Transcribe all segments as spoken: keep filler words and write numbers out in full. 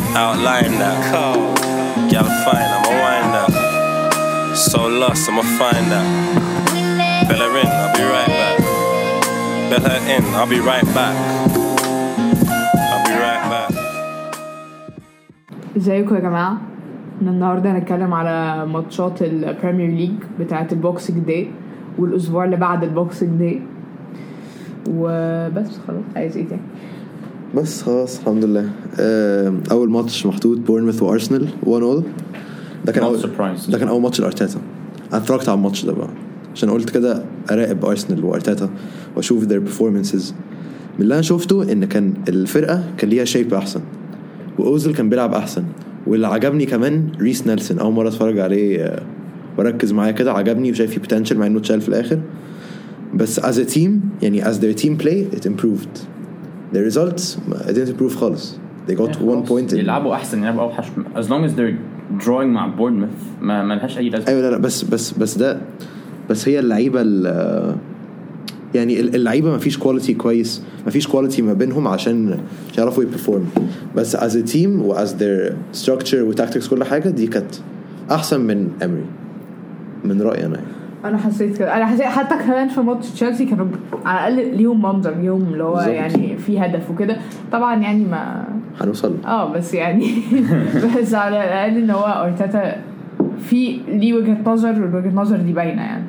outline that. Gotta find, I'ma wind that. So lost, I'ma find that. Bellerin, I'll be right back. Bellerin, I'll be right back. I'll be right back. ازيكم يا جماعة؟ النهاردة هنتكلم على ماتشات البريمير ليج بتاعة البوكسينج داي والأسبوع اللي بعد البوكسينج داي وبس. خلاص عايز ايه تاني؟ بس خلاص الحمد لله. اول ماتش محطوط بورنموث وارسنال واحد صفر. ده كان اول ده كان اول ماتش لارتيتا. انا اتفرجت على الماتش ده بقى عشان قلت كده اراقب ارسنال وارتيتا واشوف their performances. من اللي انا شفته ان كان الفرقه كان ليها شيب احسن واوزل كان بيلعب احسن. واللي عجبني كمان ريس نيلسون، اول مره اتفرج عليه وركز معايا كده، عجبني وشايف فيه potential مع انه اتشال في الاخر. بس as a team يعني as their team play it improved. The results it didn't improve خالص. They got one point. يلعبوا احسن يلعبوا اوحش as long as they're drawing مع بورنموث ما ما لهاش اي لازمه. ايوه لا لا بس بس بس ده بس هي اللعيبه يعني اللعيبه ما فيش كواليتي كويس، ما فيش كواليتي ما بينهم عشان يعرفوا يبرفورم. بس as a team و as their structure و tactics كل حاجه دي كانت احسن من امري من رايي انا. انا حسيت كده، انا حسيت حتى كمان في ماتش تشيلسي كانوا على الاقل ليهم منظر، ليهم اللي هو يعني في هدف وكده. طبعا يعني ما هنوصل اه بس يعني بس على الاقل ان هو ارتيتا في ليه وجهه نظر والوجهه نظر دي باينه يعني.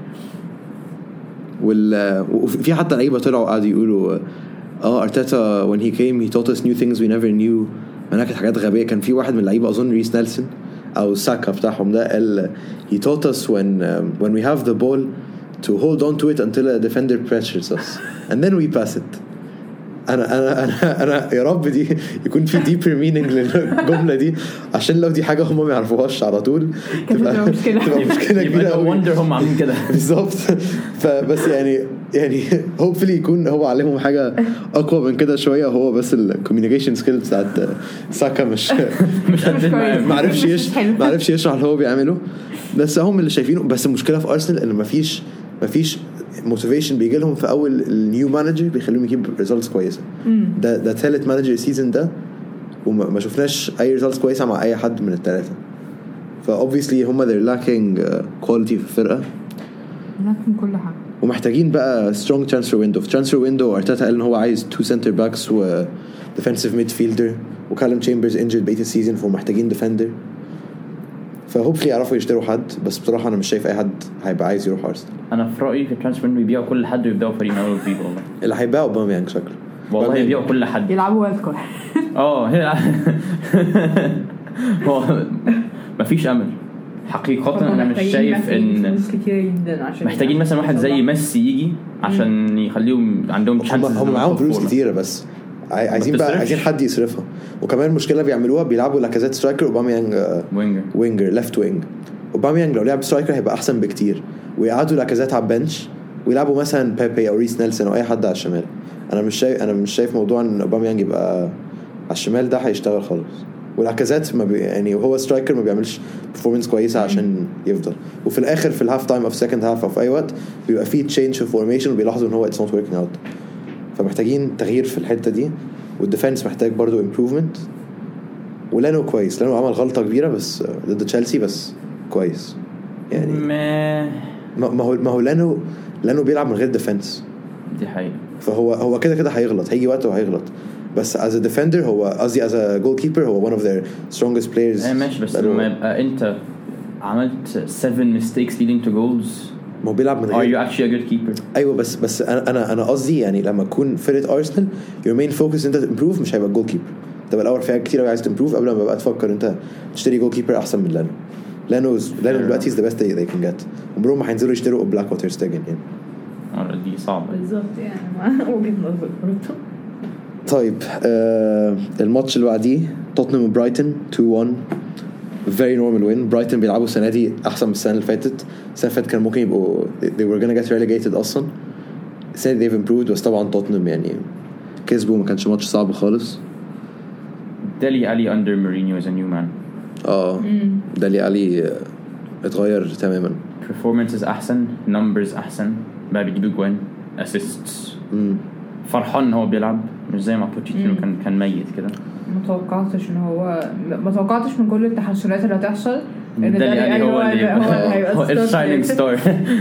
وال وفي حتى لعيبه طلعوا قاعدوا يقولوا اه ارتيتا when he came he taught us new things we never knew. انا كانت حاجات غبيه. كان في واحد من اللعيبه اظن ريس نيلسون او ساكا بتاعهم ده قال he taught us when um, when we have the ball to hold on to it until a defender pressures us and then we pass it. انا انا انا انا يا رب دي يكون في deeper meaning للجمله دي عشان لو دي حاجه هم ما يعرفوهاش على طول تبقى مشكله تبقى مشكله كبيره قوي. wonder هم عاملين كده بالظبط. فبس يعني يعني hopefully يكون هو علمهم حاجه اقوى من كده شويه. هو بس الكوميونيكيشن سكيلز بتاعت ساكا مش مش ما عرفش يش ما عرفش يشرح اللي هو بيعمله. بس هم اللي شايفينه. بس المشكله في ارسنال ان ما فيش ما فيش موتيفيشن بيجي لهم في اول النيو مانجر بيخليهم يجيب ريزلتس كويسه. ده ده ثالث مانجر السيزون ده وما شفناش اي ريزلتس كويسه مع اي حد من الثلاثه. فاوبفيسلي هم they're lacking كواليتي في الفرقه، لكن كل حاجه ومحتاجين بقى strong transfer window. في transfer window ارتيتا قال ان هو عايز two center backs و defensive midfielder وكالم تشامبرز injured بقية السيزون فمحتاجين defender. فهوبفلي يعرفوا يشتروا حد. بس بصراحه انا مش شايف اي حد هيبقى عايز يروح ارسنال. انا في رايي في الترانسفير انه يبيعوا كل حد ويبداوا فريق من اول وجديد. والله اللي هيبيعوا اوباميانج شكله والله يبيعوا كل حد يلعبوا وايلد كارد. اه هو مفيش امل حقيقه. انا مش شايف ان محتاجين مثلا واحد زي ميسي يجي عشان يخليهم عندهم تشانس. هم معاهم فلوس كتيره بس عايزين بقى عايزين حد يصرفها. وكمان المشكله بيعملوها بيلعبوا لاكازيت سترايكر اوباميانج وينجر وينجر ليفت وينج. اوباميانج لو لعب سترايكر هيبقى احسن بكتير ويقعدوا لاكازيت على البنش ويلعبوا مثلا بيبي او ريس نيلسون او اي حد على الشمال. انا مش شايف انا مش شايف موضوع ان اوباميانج يبقى على الشمال ده هيشتغل خالص. ولاكازيت ما بي يعني وهو سترايكر ما بيعملش performance كويسه عشان يفضل. وفي الاخر في الهاف تايم او في سكند هاف او في اي وقت بيبقى فيه تشينج في فورميشن وبيلاحظوا ان هو اتس نوت وركينج اوت. فمحتاجين تغيير في الحته دي. والديفنس محتاج برضو improvement. ولانو كويس. لانو عمل غلطه كبيره بس ضد تشيلسي بس كويس يعني. ما ما هو ما هو لانو لانو بيلعب من غير ديفنس. دي حقيقه. فهو هو كده كده هيغلط. هيجي وقت وهيغلط. بس as a defender هو قصدي as a goalkeeper هو one of their strongest players. ايه ماشي. بس لما يبقى انت عملت seven mistakes leading to goals ما هو بيلعب من غير. are you actually a good keeper؟ ايوه بس بس انا انا انا قصدي يعني لما تكون فرقه ارسنال your main focus انت improve مش هيبقى الجول كيبر. تبقى الاول فيها كتير عايز تمبروف قبل ما بقى تفكر انت تشتري جول كيبر احسن من لانو. لانو لانو دلوقتي is the best they, they can get. عمرهم ما هينزلوا يشتروا بلاك ووتر ستيجن يعني. اه دي صعبه بالظبط يعني ما وجهه نظر برضه. طيب آه الماتش اللي بعديه توتنهام وبرايتون two one very normal win. برايتون بيلعبوا السنه دي احسن من السنه اللي فاتت. السنه اللي فاتت كان ممكن يبقوا they were gonna get relegated اصلا. السنه دي they've improved. بس طبعا توتنهام يعني كسبوا ما كانش ماتش صعب خالص. دالي ألي under Mourinho as a new man. اه دالي ألي اتغير تماما. performances احسن numbers احسن بقى بيجيبوا جوان assists. امم فرحان هو بيلعب مش زي ما بوتشيتينو كان كان ميت كده. ما توقعتش ان هو ما توقعتش من كل التحسنات اللي هتحصل ان ده يعني هو هو الشاينينج ستار.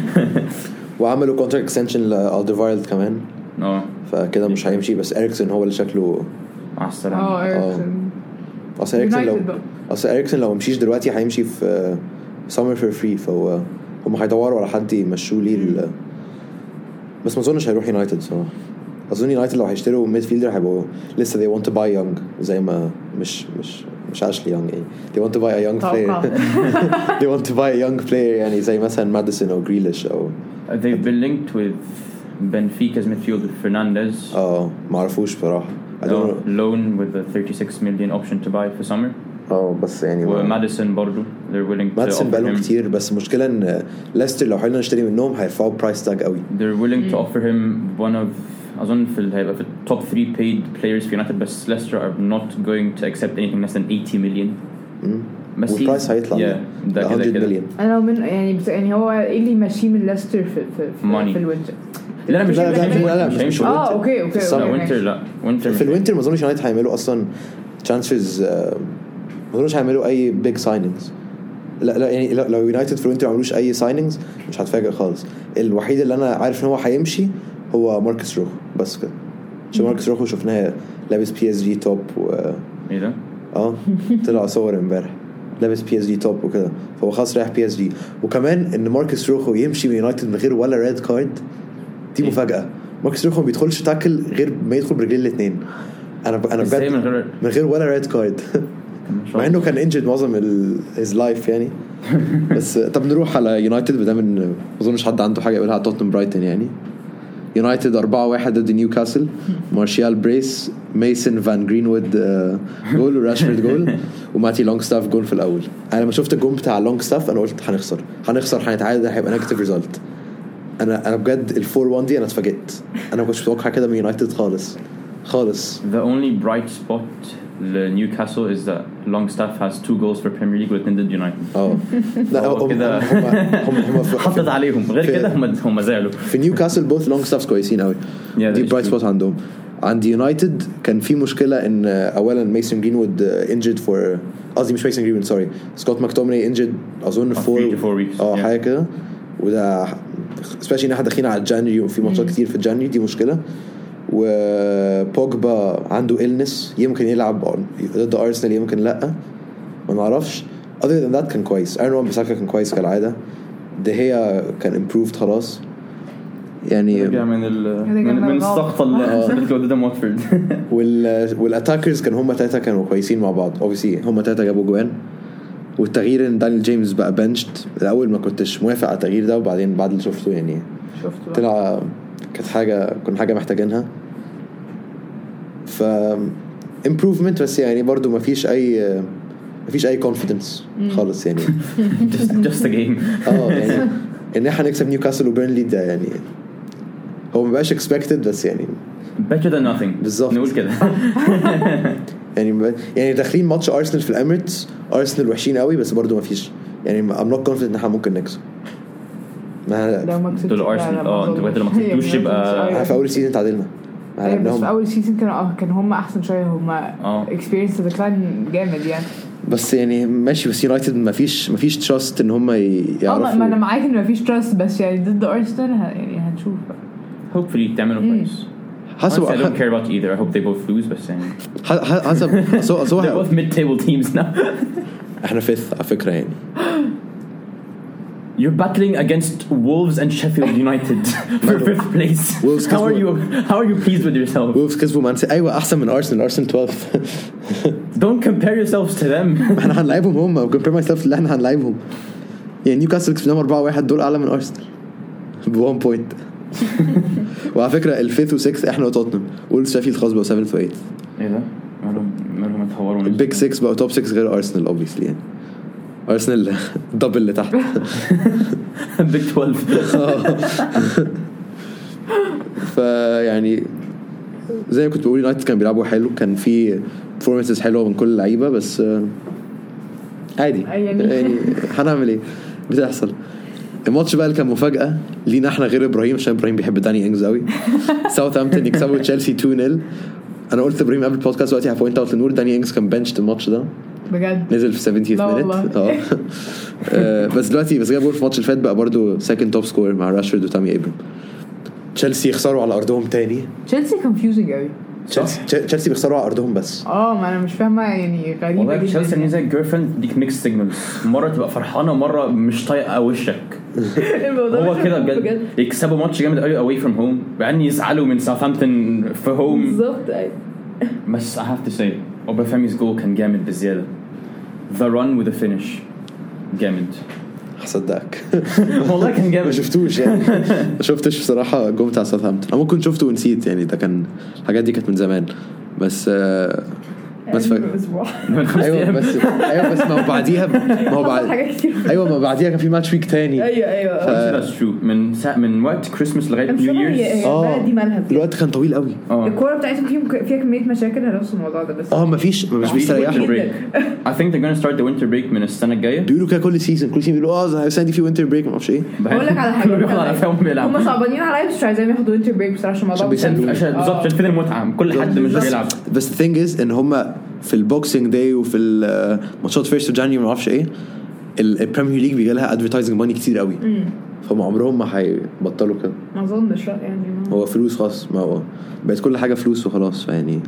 وعملوا كونتراكت اكستنشن لالدرفايلد كمان اه فكده مش هيمشي. بس اريكسن هو اللي شكله مع السلامه. اه اريكسن اصل اريكسن لو اصل اريكسن لو مشيش دلوقتي هيمشي في سمر فور فري فهو هم هيدوروا على حد يمشوه ليه. بس ما اظنش هيروح يونايتد صراحه. اظن يونايتد لو هيشتروا ميد فيلدر هيبقوا لسه they want to buy young زي ما مش مش مش اشلي يونغ يعني they want to buy a young player they want to buy a young player يعني زي مثلا ماديسون او جريليش او they've been linked with Benfica's midfielder Fernandes. اه ما عرفوش بصراحه. I don't know. Loan with a thirty-six million option to buy for summer. اه بس يعني وماديسون برضو they're willing to ماديسون بقالهم كتير. بس المشكله ان ليستر لو حاولنا نشتري منهم هيرفعوا برايس تاج قوي. they're willing to offer him one of أظن في هيبقى في top three paid players في يونايتد. بس Leicester are not going to accept anything less than eighty million. بس البرايس هيطلع yeah, one hundred million. انا لو من يعني بس يعني هو ايه اللي ماشي من ليستر في في في, في الوينتر. لا لا مش لا لا, لا, لا مش مش اه اوكي اوكي لا وينتر لا وينتر في الوينتر ما اظنش يونايتد هيعملوا اصلا ترانسفيرز. ما اظنش هيعملوا اي بيج سايننجز. لا لا يعني لو يونايتد في الوينتر ما عملوش اي سايننجز مش هتفاجئ خالص. الوحيد اللي انا عارف ان هو هيمشي هو ماركوس روخو بس كده. عشان ماركوس روخو شفناه لابس بي اس جي توب و ايه ده اه طلع صور امبارح لابس بي اس جي توب وكده فهو خلاص رايح بي اس جي. وكمان ان ماركوس روخو يمشي من يونايتد من غير ولا ريد كارد دي مفاجاه. ماركوس روخو ما بيدخلش تاكل غير ما يدخل برجلين الاثنين. انا انا بجد من غير من غير ولا ريد كارد مع انه كان انجد معظم هيز لايف يعني. بس طب نروح على يونايتد بدل ان ما اظنش حد عنده حاجه يقولها على توتنهام برايتون يعني. يونايتد أربعة واحد ضد نيوكاسل. مارشال بريس ميسن فان جرينوود جول وراشفورد جول وماتي لونغستاف جول في الاول. انا لما شفت الجول بتاع لونغستاف انا قلت هنخسر هنخسر هنتعادل هيبقى نيجاتيف ريزلت. انا انا بجد الفور وان دي انا اتفاجئت. انا ما كنتش متوقع كده من يونايتد خالص خالص. The only bright spot لنيوكاسل is that Longstaff has two goals for Premier League والاثنين ضد يونايتد. اه لا هم هم هم حطت عليهم غير كده هم هم زعلوا. في نيوكاسل both Longstaffs كويسين قوي. دي برايت سبوت عندهم. عند يونايتد كان في مشكله ان اولا ميسون جرينوود انجد فور قصدي مش ميسون جرينوود سوري سكوت ماكتوميني انجد اظن فور اه حاجه كده. وده especially ان احنا داخلين على جانيوري وفي ماتشات كتير في جانيوري دي مشكله. وبوجبا عنده إلنس يمكن يلعب ضد أرسنال يمكن لأ ما نعرفش. other than that كان كويس. أرنو وان-بيساكا كان كويس كالعادة. ده هي كان improved خلاص يعني رجع من ال من, من السقطة اللي قدام واتفورد. وال والاتاكرز كان هم ثلاثة كانوا كويسين مع بعض. obviously هم ثلاثة جابوا جوان. والتغيير ان دانيال جيمس بقى بنشت. الأول ما كنتش موافق على التغيير ده وبعدين بعد اللي شفته يعني شفته طلع كانت حاجة كنا حاجة محتاجينها. ف improvement بس يعني برضو ما فيش أي ما فيش أي confidence خالص يعني. just just a game. اه يعني إن إحنا نكسب نيوكاسل وبيرنلي ده يعني هو ما بقاش expected بس يعني better than nothing بالظبط نقول كده. يعني يعني داخلين ماتش أرسنال في الأميريتس. أرسنال وحشين قوي بس برضو ما فيش يعني I'm not confident إن إحنا ممكن نكسب. ما دول أرسنال اه أنتوا بقيتوا لما كسبتوش يبقى في أول سيزون تعادلنا. بس في أول سيزون كانوا كان هم أحسن شوية هم experience the decline جامد يعني. بس يعني ماشي بس يونايتد ما فيش ما فيش تراست ان هم يعرفوا. ما انا معاك ان ما فيش تراست بس يعني ضد ارسنال يعني هنشوف hopefully تعملوا كويس. حسب I don't care about either. I hope they both lose بس يعني حسب so so they're both mid-table teams now. احنا fifth على فكرة يعني. You're battling against Wolves and Sheffield United for fifth place. How are you how are you pleased with yourself? Wolves كسبوا مان سيتي. ايوه احسن من ارسنال. ارسنال twelfth. Don't compare yourselves to them. احنا هنلعبهم هم compare myself اللي احنا هنلعبهم يعني. نيوكاسل كسبناهم أربعة واحد دول اعلى من ارسنال ب one point. وعلى فكره الفيث وسكس احنا وتوتنهام. وولفز شيفيلد خلاص بقوا seventh و eighth. ايه ده مالهم مالهم اتطوروا. البيج six بقوا توب six غير ارسنال obviously يعني. ارسنال دبل اللي تحت. بيج twelve. فيعني زي ما كنت بقول يونايتد كان بيلعبوا حلو. كان في performances حلوه من كل اللعيبه بس عادي يعني هنعمل ايه بتحصل. الماتش بقى اللي كان مفاجاه لينا احنا غير ابراهيم عشان ابراهيم بيحب داني انجز قوي. ساوثهامبتون يكسبوا تشيلسي two nil. انا قلت ابراهيم قبل البودكاست دلوقتي هبوينت اوت لنور داني انجز كان بنش الماتش ده بجد نزل في سبعينث مينت اه بس دلوقتي بس جاب جول في الماتش اللي فات بقى برضو سكند توب سكور مع راشفورد وتامي ابراهيم. تشيلسي يخسروا على ارضهم تاني. تشيلسي كونفيوزنج قوي. تشيلسي تشيلسي بيخسروا على ارضهم بس اه ما انا مش فاهمه يعني غريبه والله تشيلسي ان زي جيرفريند ديك ميكس سيجنالز مره تبقى فرحانه ومره مش طايقه وشك. هو كده بجد يكسبوا ماتش جامد قوي اواي فروم هوم بعدين يزعلوا من ساوثهامبتون في هوم بالظبط. ايوه بس I have to say اوبافيمي's جول كان جامد بزياده. the run with the finish جامد. هصدقك والله كان جامد. ما شفتوش يعني ما شفتش بصراحه الجول بتاع ساوثهامبتون. انا ممكن شفته ونسيت يعني ده كان الحاجات دي كانت من زمان بس آه بس فاكر ايوه بس ايوه بس ما هو بعديها ما هو بعد ايوه ما بعديها كان في ماتش ويك تاني. ايوه ايوه ذاتس ترو من سا... من وقت كريسماس لغايه نيو ييرز. اه دي مالها الوقت كان طويل قوي. الكوره بتاعتهم فيها فيها كميه مشاكل هنفس الموضوع ده بس اه ما فيش مش بيستريحوا. I think they're gonna start the winter break من السنه الجايه. بيقولوا كده كل سيزون كل سيزون بيقولوا اه السنه دي في وينتر بريك ما اعرفش ايه. بقول لك على حاجه هم صعبانين عليا مش عايزين ياخدوا وينتر بريك بصراحه عشان الموضوع بالظبط عشان فين المتعه كل حد مش بيلعب. بس the thing is ان هم في البوكسينج داي وفي الماتشات فيرست جانيوري ما اعرفش ايه البريمير ليج بيجي لها ادفرتايزنج ماني كتير قوي فهم عمرهم ما هيبطلوا كده. ما اظنش يعني هو فلوس خلاص ما هو بقت كل حاجه فلوس وخلاص يعني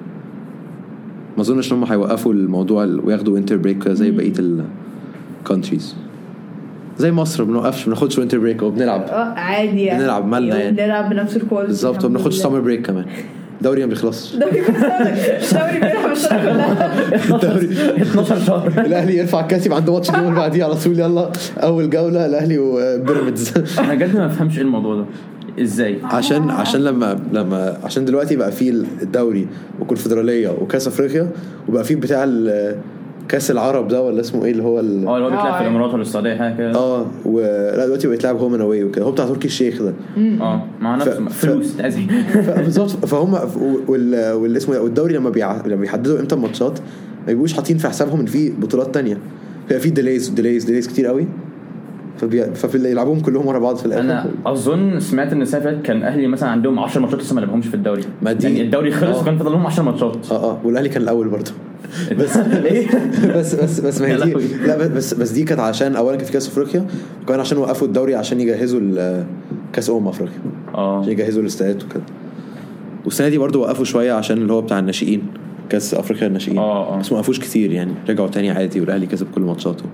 ما اظنش انهم هيوقفوا الموضوع وياخدوا وينتر بريك زي بقيه الكونتريز. زي مصر بنوقفش بناخدش وينتر بريك وبنلعب اه عادي يعني بنلعب مالنا يعني بنلعب بنفس الكواليتي بالظبط وبناخدش سمر بريك كمان. دوري ما بيخلصش. دوري دوري بيلعب الدوري اتناشر شهر. الاهلي يرفع الكاسب عنده ماتش اليوم اللي بعديه على طول يلا اول جوله الاهلي وبيراميدز. انا بجد ما بفهمش ايه الموضوع ده ازاي. عشان عشان لما لما عشان دلوقتي بقى فيه الدوري والكونفدراليه وكاس افريقيا وبقى فيه بتاع كاس العرب ده ولا اسمه ايه اللي هو اه اللي هو بيتلعب في الامارات ولا السعوديه حاجه كده. اه ولا دلوقتي بقى يتلعب هوم اند اواي وكده هو بتاع تركي الشيخ ده اه مع نفس فلوس تعزي بالظبط. فهم واللي اسمه والدوري لما بيع... لما بيحددوا امتى الماتشات ما بيبقوش حاطين في حسابهم ان في بطولات تانية في في ديليز ديليز ديليز كتير قوي فبي... فبيلعبوهم كلهم ورا بعض في الاخر. انا اظن سمعت ان السنه كان اهلي مثلا عندهم عشر ماتشات لسه ما لعبهمش في الدوري يعني الدوري خلص وكان فاضل لهم عشر ماتشات اه اه والاهلي كان الاول برضه بس بس بس بس ما هي دي لا بس بس دي كانت عشان اولا كان في كاس افريقيا وكمان عشان وقفوا الدوري عشان يجهزوا كاس امم افريقيا اه عشان يجهزوا الاستادات وكده. والسنه دي برضو وقفوا شويه عشان اللي هو بتاع الناشئين كاس افريقيا الناشئين اه بس ما وقفوش كتير يعني رجعوا تاني عادي والاهلي كسب كل ماتشاته.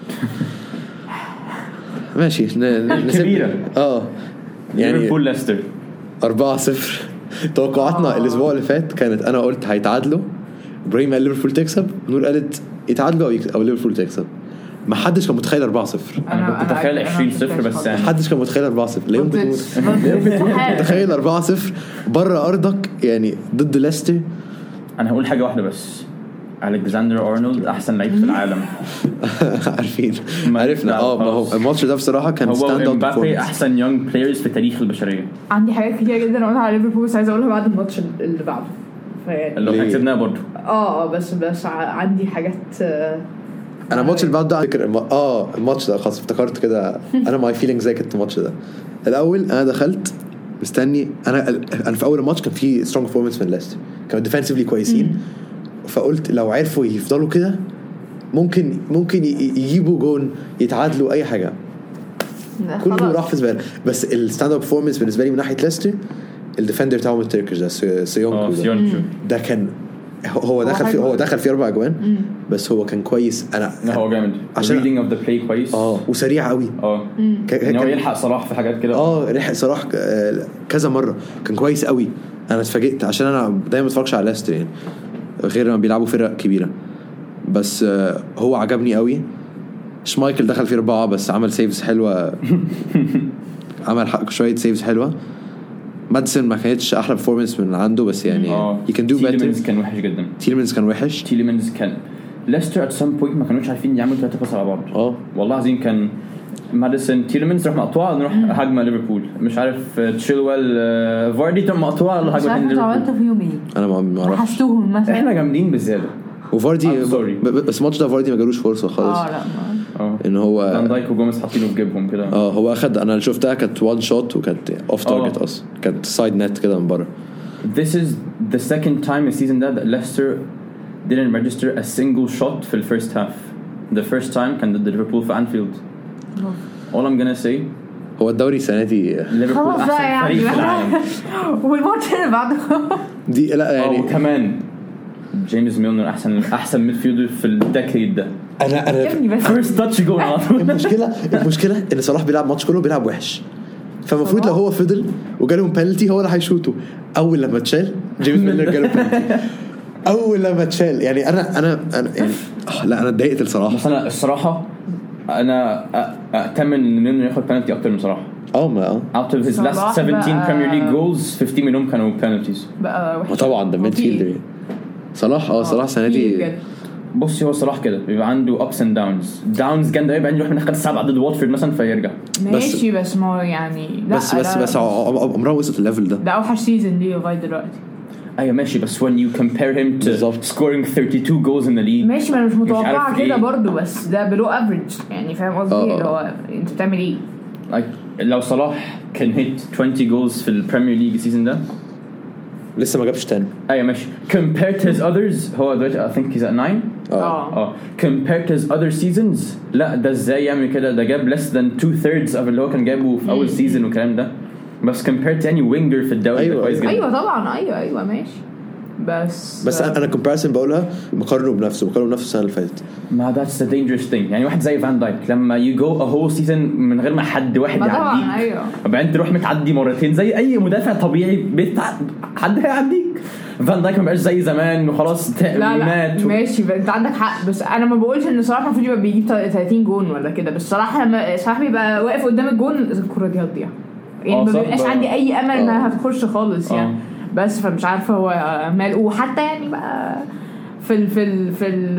ماشي كبيره اه يعني ليفربول ليستر أربعة صفر. توقعاتنا الاسبوع اللي فات كانت انا قلت هيتعادلوا ابراهيم قال ليفربول تكسب نور قالت يتعادلوا او, أو ليفربول تكسب. ما حدش كان متخيل أربعة صفر. انا كنت متخيل عشرين صفر بس ما حدش كان متخيل أربعة صفر. ليه يمكن متخيل أربعة صفر بره ارضك يعني ضد ليستر. انا هقول حاجه واحده بس ألكسندر أرنولد احسن لعيب في العالم. عارفين عرفنا اه ما هو الماتش ده بصراحه كان ستاند اوت مبابي احسن يونج بلايرز في تاريخ البشريه. عندي حاجات كتير جدا اقولها على ليفربول بس عايزه اقولها بعد الماتش اللي بعده اللي احنا كسبناه برضه اه بس بس عندي حاجات انا الماتش اللي بعده ده فكر اه الماتش ده خلاص افتكرت كده انا ماي فيلينج زي كنت الماتش ده الاول انا دخلت مستني انا انا في اول الماتش كان في سترونج بيرفورمانس من ليستر كانوا ديفنسيفلي كويسين فقلت لو عرفوا يفضلوا كده ممكن ممكن يجيبوا جون يتعادلوا اي حاجه كله راح في زباله. بس الستاند اب بيرفورمانس بالنسبه لي من ناحيه ليستر الديفندر بتاعهم التركيش ده سيونكو ده, ده كان هو دخل في هو دخل في اربع اجوان بس هو كان كويس. انا هو جامد ريدنج اوف ذا بلاي كويس اه وسريع قوي اه كان هو يلحق صلاح في حاجات كده اه لحق صلاح كذا مره كان كويس قوي. انا اتفاجئت عشان انا دايما ما اتفرجش على ليستر يعني غير لما بيلعبوا فرق كبيره بس هو عجبني قوي. شمايكل دخل في اربعه بس عمل سيفز حلوه عمل شويه سيفز حلوه. مادسون ما كانتش احلى بيرفورمانس من عنده بس يعني you can do better. تيلمنز كان وحش جدا. تيلمنز كان وحش. تيلمنز كان ليستر at some point ما كانوش عارفين يعملوا ثلاثة باس على بعض. اه والله عظيم كان ماديسون تيلمنز راح مقطوعه نروح هجمه ليفربول مش عارف تشيلويل فاردي تم مقطوعه ولا هجمه ليفربول. عملتوا فيهم ايه؟ انا ما اعرفش. حسوهم مثلا احنا جامدين بزياده وفاردي بس الماتش ده فاردي ما جالوش فرصه خالص. اه لا اه ان هو فان دايك وجوميز حاطينه في جيبهم كده. اه هو اخد انا اللي شفتها كانت وان شوت وكانت اوف تارجت اصلا كانت سايد نت كده من بره this is the second time this season that Leicester didn't register a single shot في the first half. The first time كان ضد ليفربول في أنفيلد. All I'm gonna say هو الدوري السنة دي ليفربول أحسن فريق في العالم. والماتش اللي بعده دي لا يعني وكمان جيمس ميلنر أحسن أحسن ميدفيلدر في الديكيد ده. أنا أنا first touch goal على طول. المشكلة المشكلة إن صلاح بيلعب ماتش كله بيلعب وحش. فمفروض لو هو فضل وجالهم بنالتي هو اللي هيشوطه. أول لما تشال جيمس ميلنر جاله بنالتي. أول لما تشال يعني أنا أنا أنا يعني لا أنا اتضايقت الصراحة. بس أنا الصراحة أنا أتمنى إنه ياخد بنالتي أكتر من صراحة. اه ما out of his last seventeen Premier League goals fifteen منهم كانوا penalties. بقى وحش. طبعا ده ميدفيلدر. صلاح اه صلاح السنة دي. بصي هو صلاح كده بيبقى عنده ups and downs downs جامدة يبقى يروح من آخر سبعة ضد واتفورد مثلا فيرجع. ماشي بس ما يعني لا بس بس بس عمره وصل الليفل ده. ده أوحش سيزون ليه لغاية دلوقتي. أيه ماشي بس when you compare him to بالزبط. scoring thirty-two goals in the league ماشي ما أنا مش متوقع كده إيه. برضو بس ده below average يعني فاهم قصدي اللي هو أنت بتعمل إيه؟ like لو صلاح كان hit twenty goals في البريمير ليج السيزون ده لسه ما جابش تاني. أيه ماشي compared to his others هو دلوقتي I think he's at nine. اه اه compared to his other seasons لا ده ازاي يعمل كده ده جاب less than two thirds of اللي هو كان جابه في أول season والكلام ده بس compared to any winger في الدوري أيوة. ده كويس جدا. أيوة طبعا أيوة أيوة ماشي بس بس انا كومباريسن بقولها مقارنه بنفسه مقارنه بنفسه السنه اللي فاتت. ما that's the dangerous thing يعني واحد زي فان دايك لما you go a whole season من غير ما حد واحد يعديك أيوة. بعدين تروح متعدي مرتين زي اي مدافع طبيعي بتع... حد هيعديك. فان دايك ما بقاش زي زمان وخلاص مات و... ماشي انت عندك حق بس انا ما بقولش ان صلاح المفروض يبقى بيجيب ثلاثين جون ولا كده بس صراحه لما صلاح بيبقى واقف قدام الجون الكره دي هتضيع يعني ما بيبقاش عندي اي امل انها هتخش خالص يعني أوه. بس فمش عارفه هو مال وحتى يعني بقى في ال في ال في ال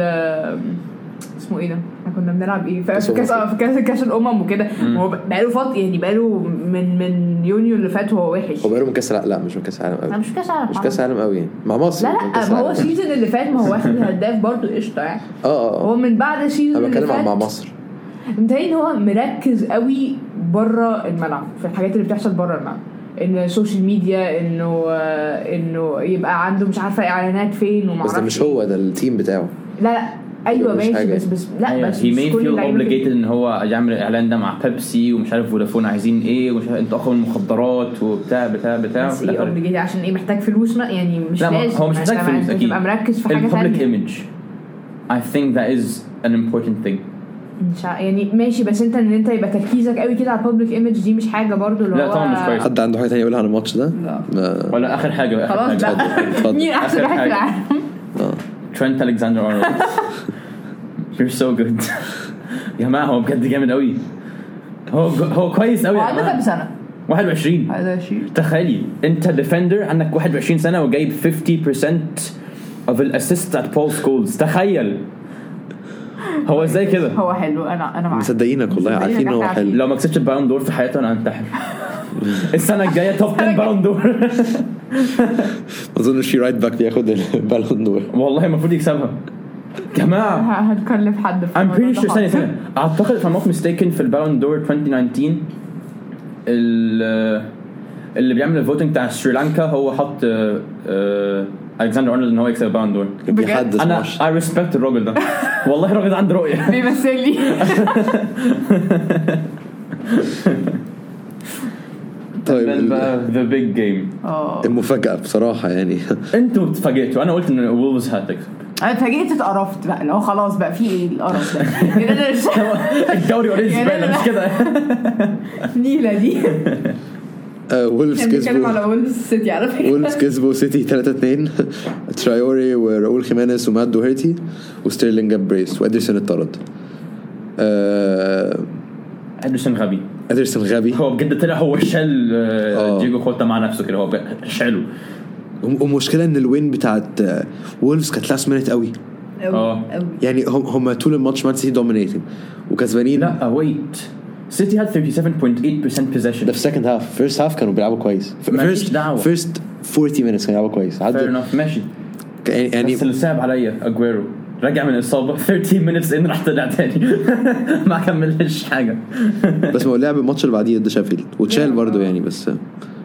اسمه ايه ده احنا كنا بنلعب ايه في كاس في كاس كاس الامم وكده هو بقاله فتره يعني بقاله من من يونيو اللي فات هو وحش. هو بقاله من كاس لا مش من كاس العالم قوي. مش كاس العالم مش كاس العالم قوي مع مصر. لا لا ما هو السيزون اللي فات ما هو واخد هداف برضه قشطه يعني. اه هو من بعد السيزون اللي فات مع مصر انتهي هو مركز قوي بره الملعب في الحاجات اللي بتحصل بره الملعب ان السوشيال ميديا انه انه يبقى عنده مش عارفه اعلانات فين وما بس ده مش هو ده التيم بتاعه. لا لا ايوه ماشي بس بس لا أيوة. بس he may feel obligated ان هو يعمل الاعلان ده مع بيبسي ومش عارف فودافون عايزين ايه ومش عارف انتوا اخذوا المخدرات وبتاع بتاع بتاع بس ايه obligated عشان ايه محتاج فلوس يعني مش لازم هو مش محتاج فلوس اكيد تبقى مركز في حاجه ثانيه. public image I think that is an important thing مش يعني ماشي بس انت ان انت يبقى تركيزك قوي كده على البابليك ايمج دي مش حاجه برضو اللي هو لا طبعا مش كويس. حد عنده حاجه ثانيه يقولها عن الماتش ده؟ لا ولا اخر حاجه خلاص لا مين احسن واحد في العالم؟ ترينت ألكساندر أرنولد. You're so good يا جماعه هو بجد جامد قوي هو هو كويس قوي. عنده كام سنه؟ واحد وعشرين. واحد وعشرين تخيلي انت ديفندر عندك واحد وعشرين سنه وجايب fifty percent of the assists at Paul Scholes. تخيل هو ازاي كده. هو حلو انا انا معاك مصدقينك والله عارفين هو حلو. لو ما كسبتش البالون دور في حياته انا انتحر. السنه الجايه توب عشرة بالون دور. ما اظنش في رايت باك بياخد البالون دور والله المفروض يكسبها جماعه. هنكلف حد I'm pretty sure ثانيه ثانيه اعتقد if I'm not mistaken في البالون دور twenty nineteen اللي بيعمل الفوتنج بتاع سريلانكا هو حط ألكساندر أرنولد ان هو يكسب البالون دور. انا I respect الراجل ده والله الراجل ده عنده رؤيه بيمثل لي. طيب the big game المفاجأة بصراحة يعني انتوا اتفاجئتوا انا قلت ان وولفز هتكسب. انا اتفاجئت اتقرفت بقى لو خلاص بقى في ايه القرف ده. الدوري اوريدي زباله مش كده نيله دي. وولفز كسبوا على وولفز سيتي على فكره. وولفز كسبوا سيتي ثلاثة اثنين. ترايوري وراؤول خيمينيز ومات دوهيرتي وستيرلينج جاب بريس وادرسون اتطرد. ادرسون غبي ادرسون غبي هو بجد طلع هو شال دييجو كوتا مع نفسه كده هو شاله. ومشكلة ان الوين بتاعت وولفز كانت لاست مينيت قوي اه يعني هم هم طول الماتش مان سيتي دومينيتنج وكسبانين. لا ويت سيتي had thirty-seven point eight percent possession. ده في second half first half كانوا بيلعبوا كويس. first first forty minutes كانوا بيلعبوا كويس. fair enough ماشي يعني بس اللي صعب عليا أجويرو رجع من الإصابة thirteen minutes إن راح طلع تاني ما كملش حاجة. بس ما هو لعب الماتش اللي بعديه ضد شيفيلد وتشال برضو يعني بس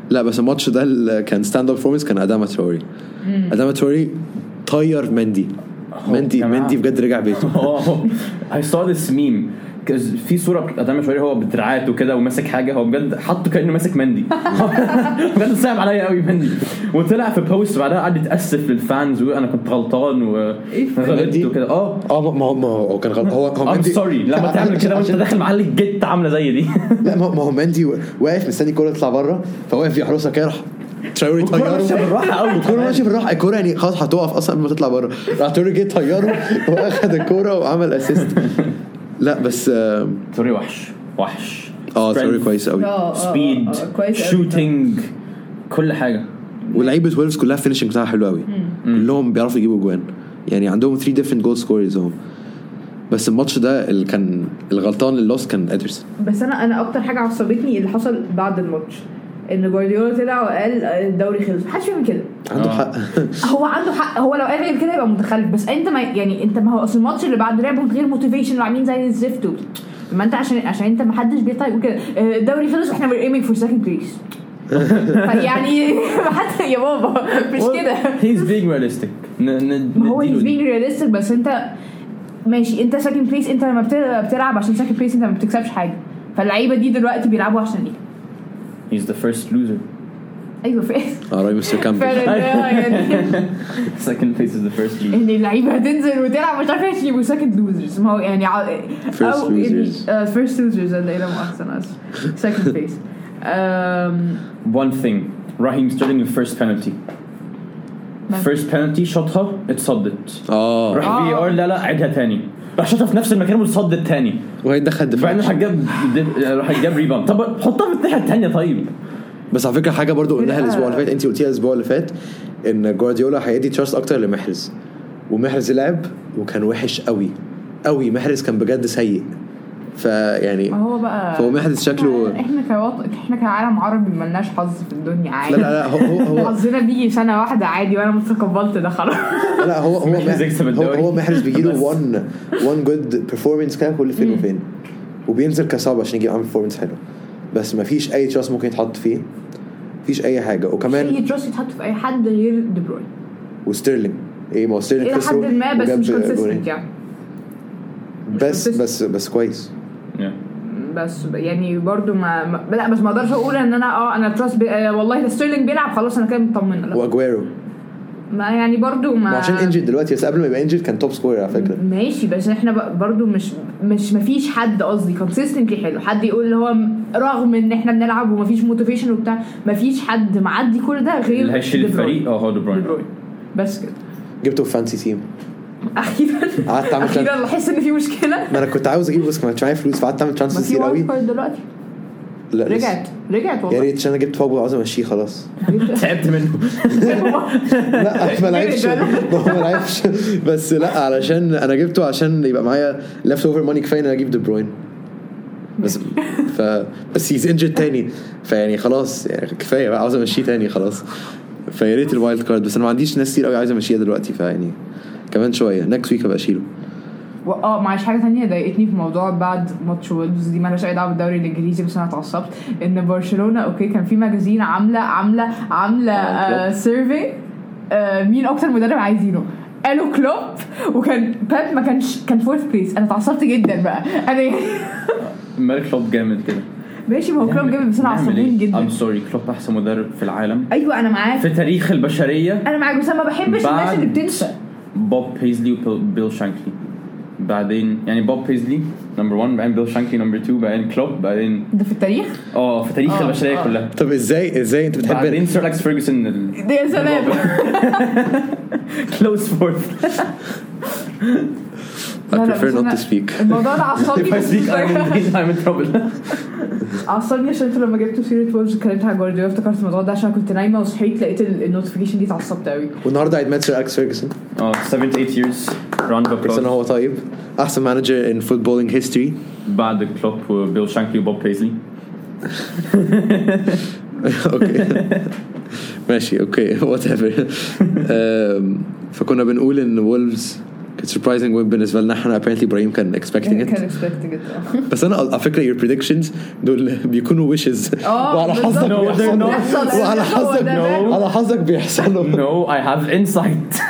لا بس الماتش ده اللي كان ستاند اب فورمنس كان اداما تروري. اداما تروري طير مندي مندي مندي بجد رجع بيته. I saw this meme في صورة أدام شوية هو بدراعات وكده وماسك حاجة هو بجد حطه كأنه ماسك مندي بجد صعب عليا قوي مندي. وطلع في بوست بعدها قعد يتأسف للفانز وأنا كنت غلطان وغلطت وكده. اه اه ما هو ما هو كان غلط. هو هو I'm sorry لما تعمل كده وأنت داخل معلق جت عاملة زي دي. لا ما هو مندي واقف مستني الكورة تطلع بره فواقف يحرسها كده. راح تراوري طياره بالراحه قوي الكوره ماشيه بالراحه الكوره يعني خلاص هتقف اصلا قبل ما تطلع بره. راح تراوري جه طياره واخد الكوره وعمل اسيست. لا بس تراوري وحش وحش اه تراوري كويس قوي سبيد شوتينج كل حاجه. ولعيبه ويلفز كلها فينيشنج بتاعها حلو قوي كلهم بيعرفوا يجيبوا جوان يعني عندهم ثلاثة different goal scorers هم. بس الماتش ده اللي كان الغلطان اللي لوس كان ادرسون. بس انا انا اكتر حاجه عصبتني اللي حصل بعد الماتش ان جوارديولا طلع وقال الدوري خلص. محدش فاهم كده. عنده حق. هو عنده حق. هو لو قال غير كده يبقى متخلف. بس انت ما يعني انت ما هو اصل الماتش اللي بعد لعبوا من غير موتيفيشن وعاملين زي الزفت. ما انت عشان عشان انت ما حدش بيطيق وكده الدوري خلص واحنا we're aiming for second place. يعني حتى يا بابا مش كده. he's being realistic. هو he's being realistic بس انت ماشي انت second place. انت لما بتلعب عشان second place انت ما بتكسبش حاجه. فاللعيبه دي دلوقتي بيلعبوا عشان ايه؟ he's the first loser. ايوه فاهم. اه راي مستر كامبل. second place is the first loser. ان اللعيبه هتنزل وتلعب مش عارفه يجيبوا second losers. ما هو يعني first losers uh, first losers اللي الى مؤخرا second place. um, one thing Raheem Sterling the first penalty first penalty شاطها اتصدت. اه راح بي ار لا لا عيدها تاني راح شاطها في نفس المكان وتصدت تاني وهي دخل دفاع. فانا هجاب راح يجاب ريباوند. طب حطها في الناحيه الثانيه. طيب بس على فكره حاجه برضو قلناها الاسبوع اللي فات انت قلتيها الاسبوع اللي فات ان جوارديولا هيدي تراست اكتر لمحرز ومحرز لعب وكان وحش قوي قوي. محرز كان بجد سيء. فيعني هو بقى فهو محرز شكله احنا كوط... احنا كعالم عربي ملناش حظ في الدنيا عادي. لا لا لا هو هو حظنا بيجي سنه واحده عادي وانا متقبلت ده خلاص. لا هو هو هو, هو محرز بيجيله وان وان جود بيرفورمانس كده كل فين وفين وبينزل كصعب عشان يجيب عامل بيرفورمانس حلو. بس ما فيش اي تراست ممكن يتحط فيه. مفيش اي حاجه. وكمان اي تراست يتحط في اي حد غير دي بروين وستيرلينج. ايه ما هو ستيرلينج الى حد ما بس مش كونسيستنت يعني. بس بس بس كويس بس يعني برضو ما, ما لا بس ما اقدرش اقول ان انا اه انا تراست بي... آه والله ده ستيرلينج بيلعب خلاص انا كده مطمنه. لا واجويرو ما يعني برضو ما عشان انجل دلوقتي بس قبل ما يبقى انجل كان توب سكورر على فكره. ماشي بس احنا برضو مش مش مفيش حد قصدي كونسيستنتلي حلو. حد يقول اللي هو رغم ان احنا بنلعب ومفيش موتيفيشن وبتاع مفيش حد معدي كل ده غير اللي هيشيل الفريق اه هو دي بروين بس كده. جبته في فانسي تيم اخيرا قعدت اعمل اخيرا احس ان في مشكله. ما انا كنت عاوز اجيبه بس ما كانش معايا فلوس فقعدت اعمل ترانسفير كتير قوي. دلوقتي لا رجعت رجعت والله يا ريت عشان انا جبت فوق عاوز امشيه خلاص. تعبت منه. لا ما لعبش ما لعبش بس لا علشان انا جبته عشان يبقى معايا ليفت اوفر ماني كفايه ان انا اجيب دي بروين بس ف بس هيز انجرد تاني فيعني خلاص يعني كفايه بقى عاوز امشيه تاني خلاص. فيا ريت الوايلد كارد بس انا ما عنديش ناس كتير قوي عايز امشيها دلوقتي فيعني كمان شويه نكست ويك ابقى اشيله. اه معلش حاجه ثانيه ضايقتني في موضوع بعد ماتش وولفز دي مالهاش اي دعوه بالدوري الانجليزي بس انا اتعصبت ان برشلونه اوكي كان في ماجازين عامله عامله عامله آه سيرفي آه مين اكتر مدرب عايزينه. قالوا كلوب وكان باب ما كانش كان فورث بليس. انا اتعصبت جدا بقى انا مالك كلوب جامد كده ماشي ما هو كلوب جامد بس انا عصبين جدا. ام سوري كلوب احسن مدرب في العالم. ايوه انا معاك في تاريخ البشريه انا معاك بس انا ما بحبش الناس اللي بتنسى. بوب بيزلي وبيل شانكلي بعدين يعني بوب بيزلي نمبر واحد بعدين بيل شانكلي نمبر اتنين بعدين كلوب بعدين ده في التاريخ اه في تاريخ البشريه كلها. طب ازاي ازاي انت بتحب بعدين سير أليكس فيرجسون ال... يا سلام كلوز فورث. I prefer not to speak. الموضوع ده عصبني. If I speak I'm in trouble. عصبني عشان انتوا لما جبتوا سيرة وولفز اتكلمت عن جوارديولا افتكرت الموضوع ده عشان كنت نايمه وصحيت لقيت النوتيفيكيشن دي اتعصبت قوي. والنهارده عيد ميلاد سير أليكس فيرجسون. اه seven to eight years round of applause. بس هو طيب احسن مانجر ان فوتبولينج هيستوري بعد كلوب وبيل شانكلي وبوب بيزلي. اوكي ماشي اوكي وات ايفر. فكنا بنقول ان وولفز كانت surprising win بالنسبه لنا احنا. apparently ابراهيم كان expecting it كان expecting it. بس انا على فكره your predictions دول بيكونوا wishes وعلى حظك بيحصلوا وعلى حظك على حظك بيحصلوا. no I have insight.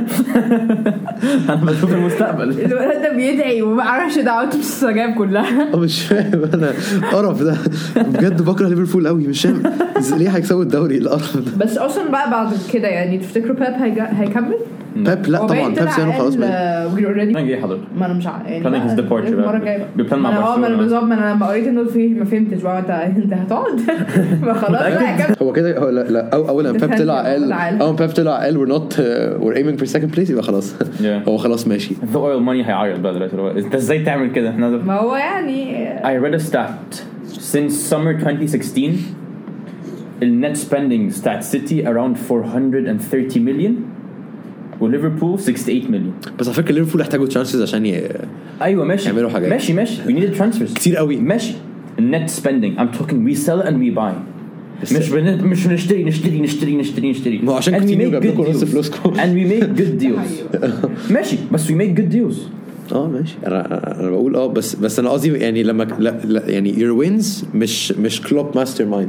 انا بشوف المستقبل. الولد ده بيدعي وما اعرفش دعوته تستجاب كلها. مش فاهم انا قرف ده بجد. بكره ليفربول قوي مش فاهم ليه هيكسبوا الدوري القرف ده. بس اصلا بقى بعد كده يعني تفتكروا بيب هيكمل؟ بيب لا طبعا بيب سيانو خلاص بقى. انا جاي حضرتك. ما انا مش عارف يعني planning his departure المره الجايه بيبلان مع برشلونه. ما انا بالظبط ما انا لما قريت انه في ما فهمتش بقى انت انت هتقعد ما خلاص بقى. هو كده هو لا, لا اولا بيب طلع قال اول بيب طلع قال we're not uh, we're aiming for second place يبقى خلاص هو خلاص ماشي. the oil money هيعيط بقى دلوقتي. انت ازاي تعمل كده؟ ما هو يعني I read a stat since summer twenty sixteen النت spending بتاعت سيتي around four hundred thirty million وليفربول sixty-eight million. بس على فكره ليفربول يحتاجوا ترانسفيرز عشان ي... ايوه ماشي يعملوا حاجات. ماشي ماشي we needed transfers كتير قوي. ماشي النت spending I'm talking we sell and we buy. مش بن... مش نشتري نشتري نشتري نشتري نشتري ما عشان كتير جاب لكم نص فلوسكم and we make good deals. ماشي بس we make good deals. اه ماشي انا انا بقول اه بس بس انا قصدي يعني لما لا, لا يعني your wins مش مش كلوب ماستر مايند.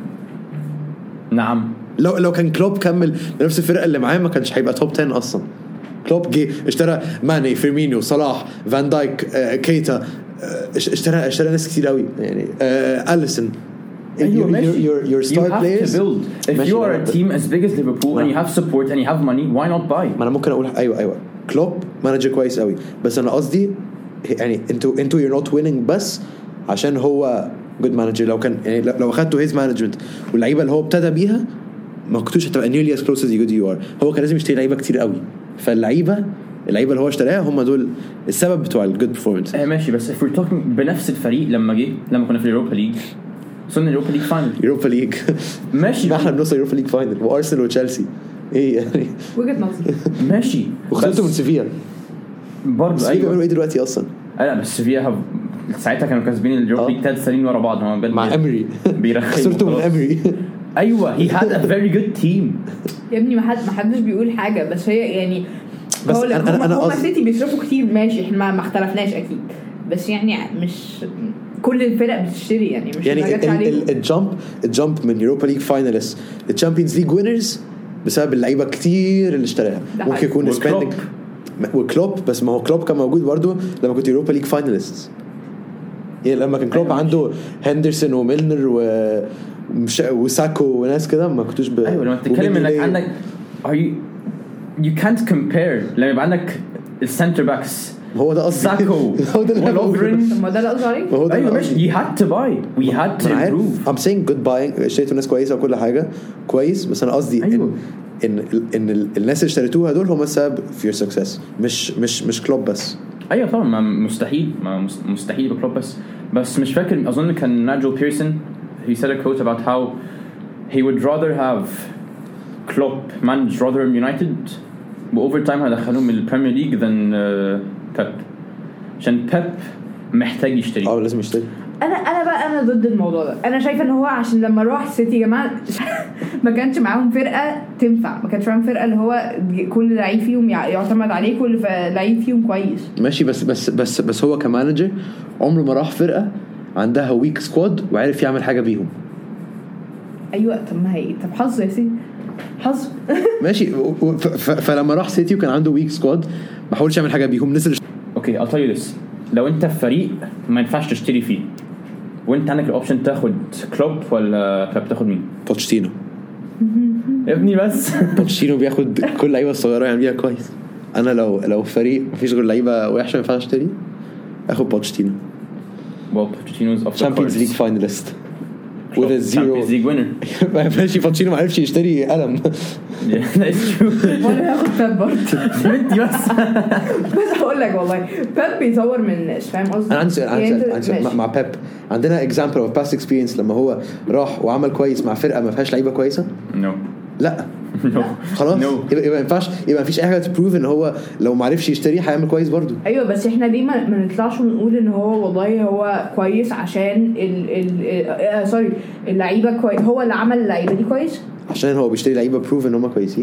نعم لو لو كان كلوب كمل بنفس الفرقه اللي معاه ما كانش هيبقى توب عشرة اصلا. كلوب جه اشترى ماني فيرمينيو صلاح فان دايك آه، كيتا آه، اشترى اشترى ناس كتير قوي يعني آه، أليسون. أيوة your, your, your star you have players to build. If ماشي you are a team as big as Liverpool and you have support and you have money why not buy. ما انا ممكن اقول ايوه ايوه كلوب مانجر كويس قوي بس انا قصدي يعني انتوا انتوا you're not winning بس عشان هو good manager. لو كان يعني لو اخدتوا his management واللعيبه اللي هو ابتدى بيها ما كنتوش هتبقى nearly as close as you are. هو كان لازم يشتري لعيبه كتير قوي فاللعيبه اللعيبه اللي هو اشتراها هم دول السبب بتوع الجود performance. اه ماشي بس if we're talking بنفس الفريق لما جه لما كنا في اليوروبا ليج وصلنا اليوروبا ليج فاينل. يوروبا ليج ماشي احنا بنوصل يوروبا ليج فاينل وارسنال وتشيلسي ايه يعني وجهة نظر. ماشي وخسرتوا من سيفيا برضه. ايوه بيعملوا ايه دلوقتي اصلا؟ لا بس سيفيا ساعتها كانوا كاسبين اليوروبا ليج ثلاث سنين ورا بعض هم مع امري خسرتوا من امري. ايوه he had a very good team يا ابني ما حد ما حدش بيقول حاجه بس هي يعني بس هو انا هم انا هم قصدي سيتي بيصرفوا كتير ماشي احنا ما اختلفناش اكيد بس يعني مش كل الفرق بتشتري يعني مش يعني الجامب الجامب من يوروبا ليج فاينالست للتشامبيونز ليج وينرز بسبب اللعيبه كتير اللي اشتراها. ممكن يكون سبيندنج وكلوب بس ما هو كلوب كان موجود برضو لما كنت يوروبا ليج فاينالست يعني لما كان كلوب أيوة عنده هندرسون وميلنر و وساكو وناس كده ما كنتوش ب... ايوه لما تتكلم انك عندك are you you can't compare لما يبقى عندك السنتر باكس هو ده قصدي ساكو هو ده اللي بقوله ما ده اللي قصدي عليه. ايوه ماشي you had to buy we had to improve. I'm saying good buying اشتريتوا ناس كويسه وكل حاجه كويس بس انا قصدي أيوة. ان ان ان الناس اللي اشتريتوها دول هم السبب في your success مش مش مش كلوب بس. ايوه طبعا ما مستحيل ما مستحيل بكلوب بس بس مش فاكر اظن كان ناجل بيرسون he said a quote about how he would rather have Klopp manage Rotherham United over time هدخلهم من البريمير ليج than uh, Pep عشان Pep محتاج يشتري. اه لازم يشتري. انا انا بقى انا ضد الموضوع ده. انا شايفه ان هو عشان لما راح سيتي يا جماعه ما كانش معاهم فرقه تنفع ما كانش معاهم فرقه اللي هو كل لعيب فيهم يعتمد عليه كل لعيب فيهم كويس ماشي بس بس بس بس هو كمانجر عمره ما راح فرقه عندها ويك سكواد وعارف يعمل حاجه بيهم. ايوه طب ما هي طب حظ يا سيدي حظ ماشي فلما راح سيتي وكان عنده ويك سكواد ما حاولش يعمل حاجه بيهم نزل. اوكي I'll tell you this لو انت في فريق ما ينفعش تشتري فيه وانت عندك الاوبشن تاخد كلوب ولا بيب تاخد مين؟ بوتشيتينو ابني بس بوتشيتينو بياخد كل لعيبه الصغيره يعني بيها كويس. انا لو لو فريق مفيش غير لعيبه وحشه ما ينفعش اشتري اخد بوتشيتينو. well Pochettino's off the Champions League finalist with a zero Champions League winner. ماشي بوتشيتينو ما عرفش يشتري قلم. yeah that's true. ولا هاخد بيب برضه بنتي بس بس هقول لك والله بيب بيطور من الناس فاهم قصدي. انا عندي عندي عندي مع بيب عندنا example of past experience لما هو راح وعمل كويس مع فرقه ما فيهاش لعيبه كويسه. no لا no خلاص no. يبقى ما ينفعش يبقى مفيش اي حاجه تبروف ان هو لو ما عرفش يشتري هيعمل كويس برضو. ايوه بس احنا ليه ما, ما نطلعش ونقول ان هو والله هو كويس عشان ال ال آه سوري اللعيبه كويس هو اللي عمل اللعيبه دي كويس عشان هو بيشتري لعيبه بروف ان هم كويسين.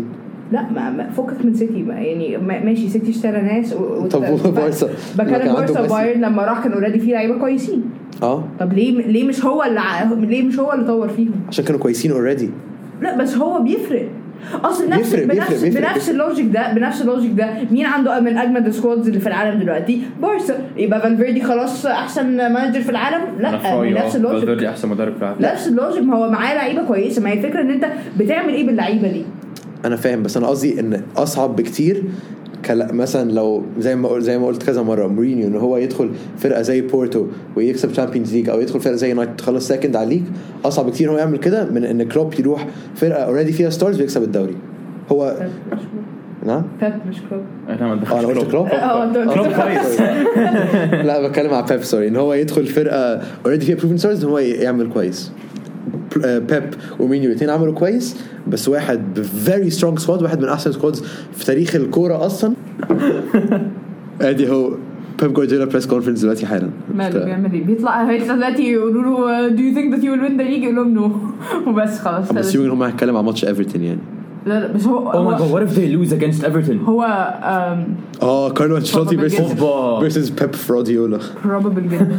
لا ما, ما فكك من سيتي ما يعني ما ماشي سيتي اشترى ناس و... طب بارسا بكلم بارسا بايرن لما راح كانوا اوريدي فيه لعيبه كويسين اه طب ليه ليه مش هو اللي ع... ليه مش هو اللي طور فيهم عشان كانوا كويسين اوريدي لا بس هو بيفرق اصل نفس بيفرق بنفس بيفرق بيفرق بنفس اللوجيك ده بنفس اللوجيك ده مين عنده من اجمد السكوادز اللي في العالم دلوقتي بارسا يبقى فالفيردي خلاص احسن مانجر في العالم لا نفس اللوجيك فالفيردي احسن مدرب في العالم نفس اللوجيك ما هو معاه لعيبه كويسه ما هي الفكره ان انت بتعمل ايه باللعيبه دي انا فاهم بس انا قصدي ان اصعب بكتير مثلا لو زي ما زي ما قلت كذا مره مورينيو ان هو يدخل فرقه زي بورتو ويكسب تشامبيونز ليج او يدخل فرقه زي يونايتد تخلص سكند على الليج اصعب بكتير هو يعمل كده من ان كلوب يروح فرقه اوريدي فيها ستارز ويكسب الدوري هو نعم بيب مش كلوب انا ما دخلتش قلت كلوب اه كلوب كويس لا بتكلم على بيب سوري ان هو يدخل فرقه اوريدي فيها بروفن ستارز هو يعمل كويس بيب ومينيو الاثنين عملوا كويس بس واحد very strong squad واحد من احسن سكوادز في تاريخ الكوره اصلا ادي هو بيب جوارديولا بريس كونفرنس دلوقتي حالا ماله بيعمل ايه بيطلع هيطلع دلوقتي يقولوا له do you think that you will win the league يقول لهم نو وبس خلاص بس يمكن هم هيتكلم على ماتش ايفرتون يعني لا لا بس هو oh my god what if they lose against Everton هو اه كارلو انشيلوتي versus versus بيب فروديولا probable جدا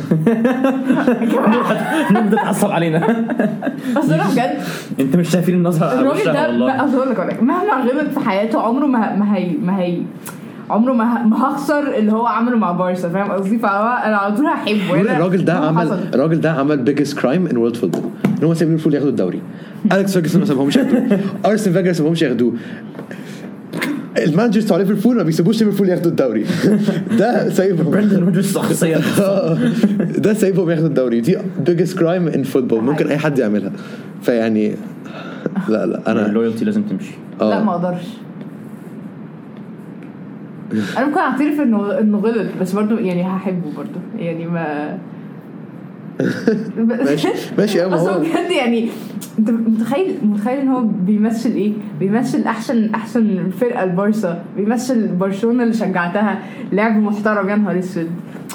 نبدأ تعصب علينا اصل انا بجد انت مش شايفين النظرة الراجل ده اصل لك مهما غلط في حياته عمره ما ما هي ما هي عمره ما ما هخسر اللي هو عمله مع بارسا فاهم قصدي فانا على طول هحبه الراجل ده عمل الراجل ده عمل biggest crime in world football ان هو ساب ليفربول ياخدوا الدوري أليكس فيرجسون ما سابهمش ياخدوه أرسن فينجر ما سابهمش ياخدوه المانجرز بتاع ليفربول ما بيسيبوش ليفربول ياخدوا الدوري ده سايبهم برندن روجرز شخصيا ده سايبهم ياخدوا الدوري دي biggest crime in football ممكن اي حد يعملها فيعني لا لا انا اللويالتي لازم تمشي لا ما اقدرش انا ممكن اعترف انه انه غلط بس برضو يعني هحبه برضو يعني ما ماشي ماشي يا هو بجد يعني انت متخيل متخيل ان هو بيمثل ايه بيمثل احسن احسن فرقه البارسا بيمثل برشلونه اللي شجعتها لعب محترم يا نهار اسود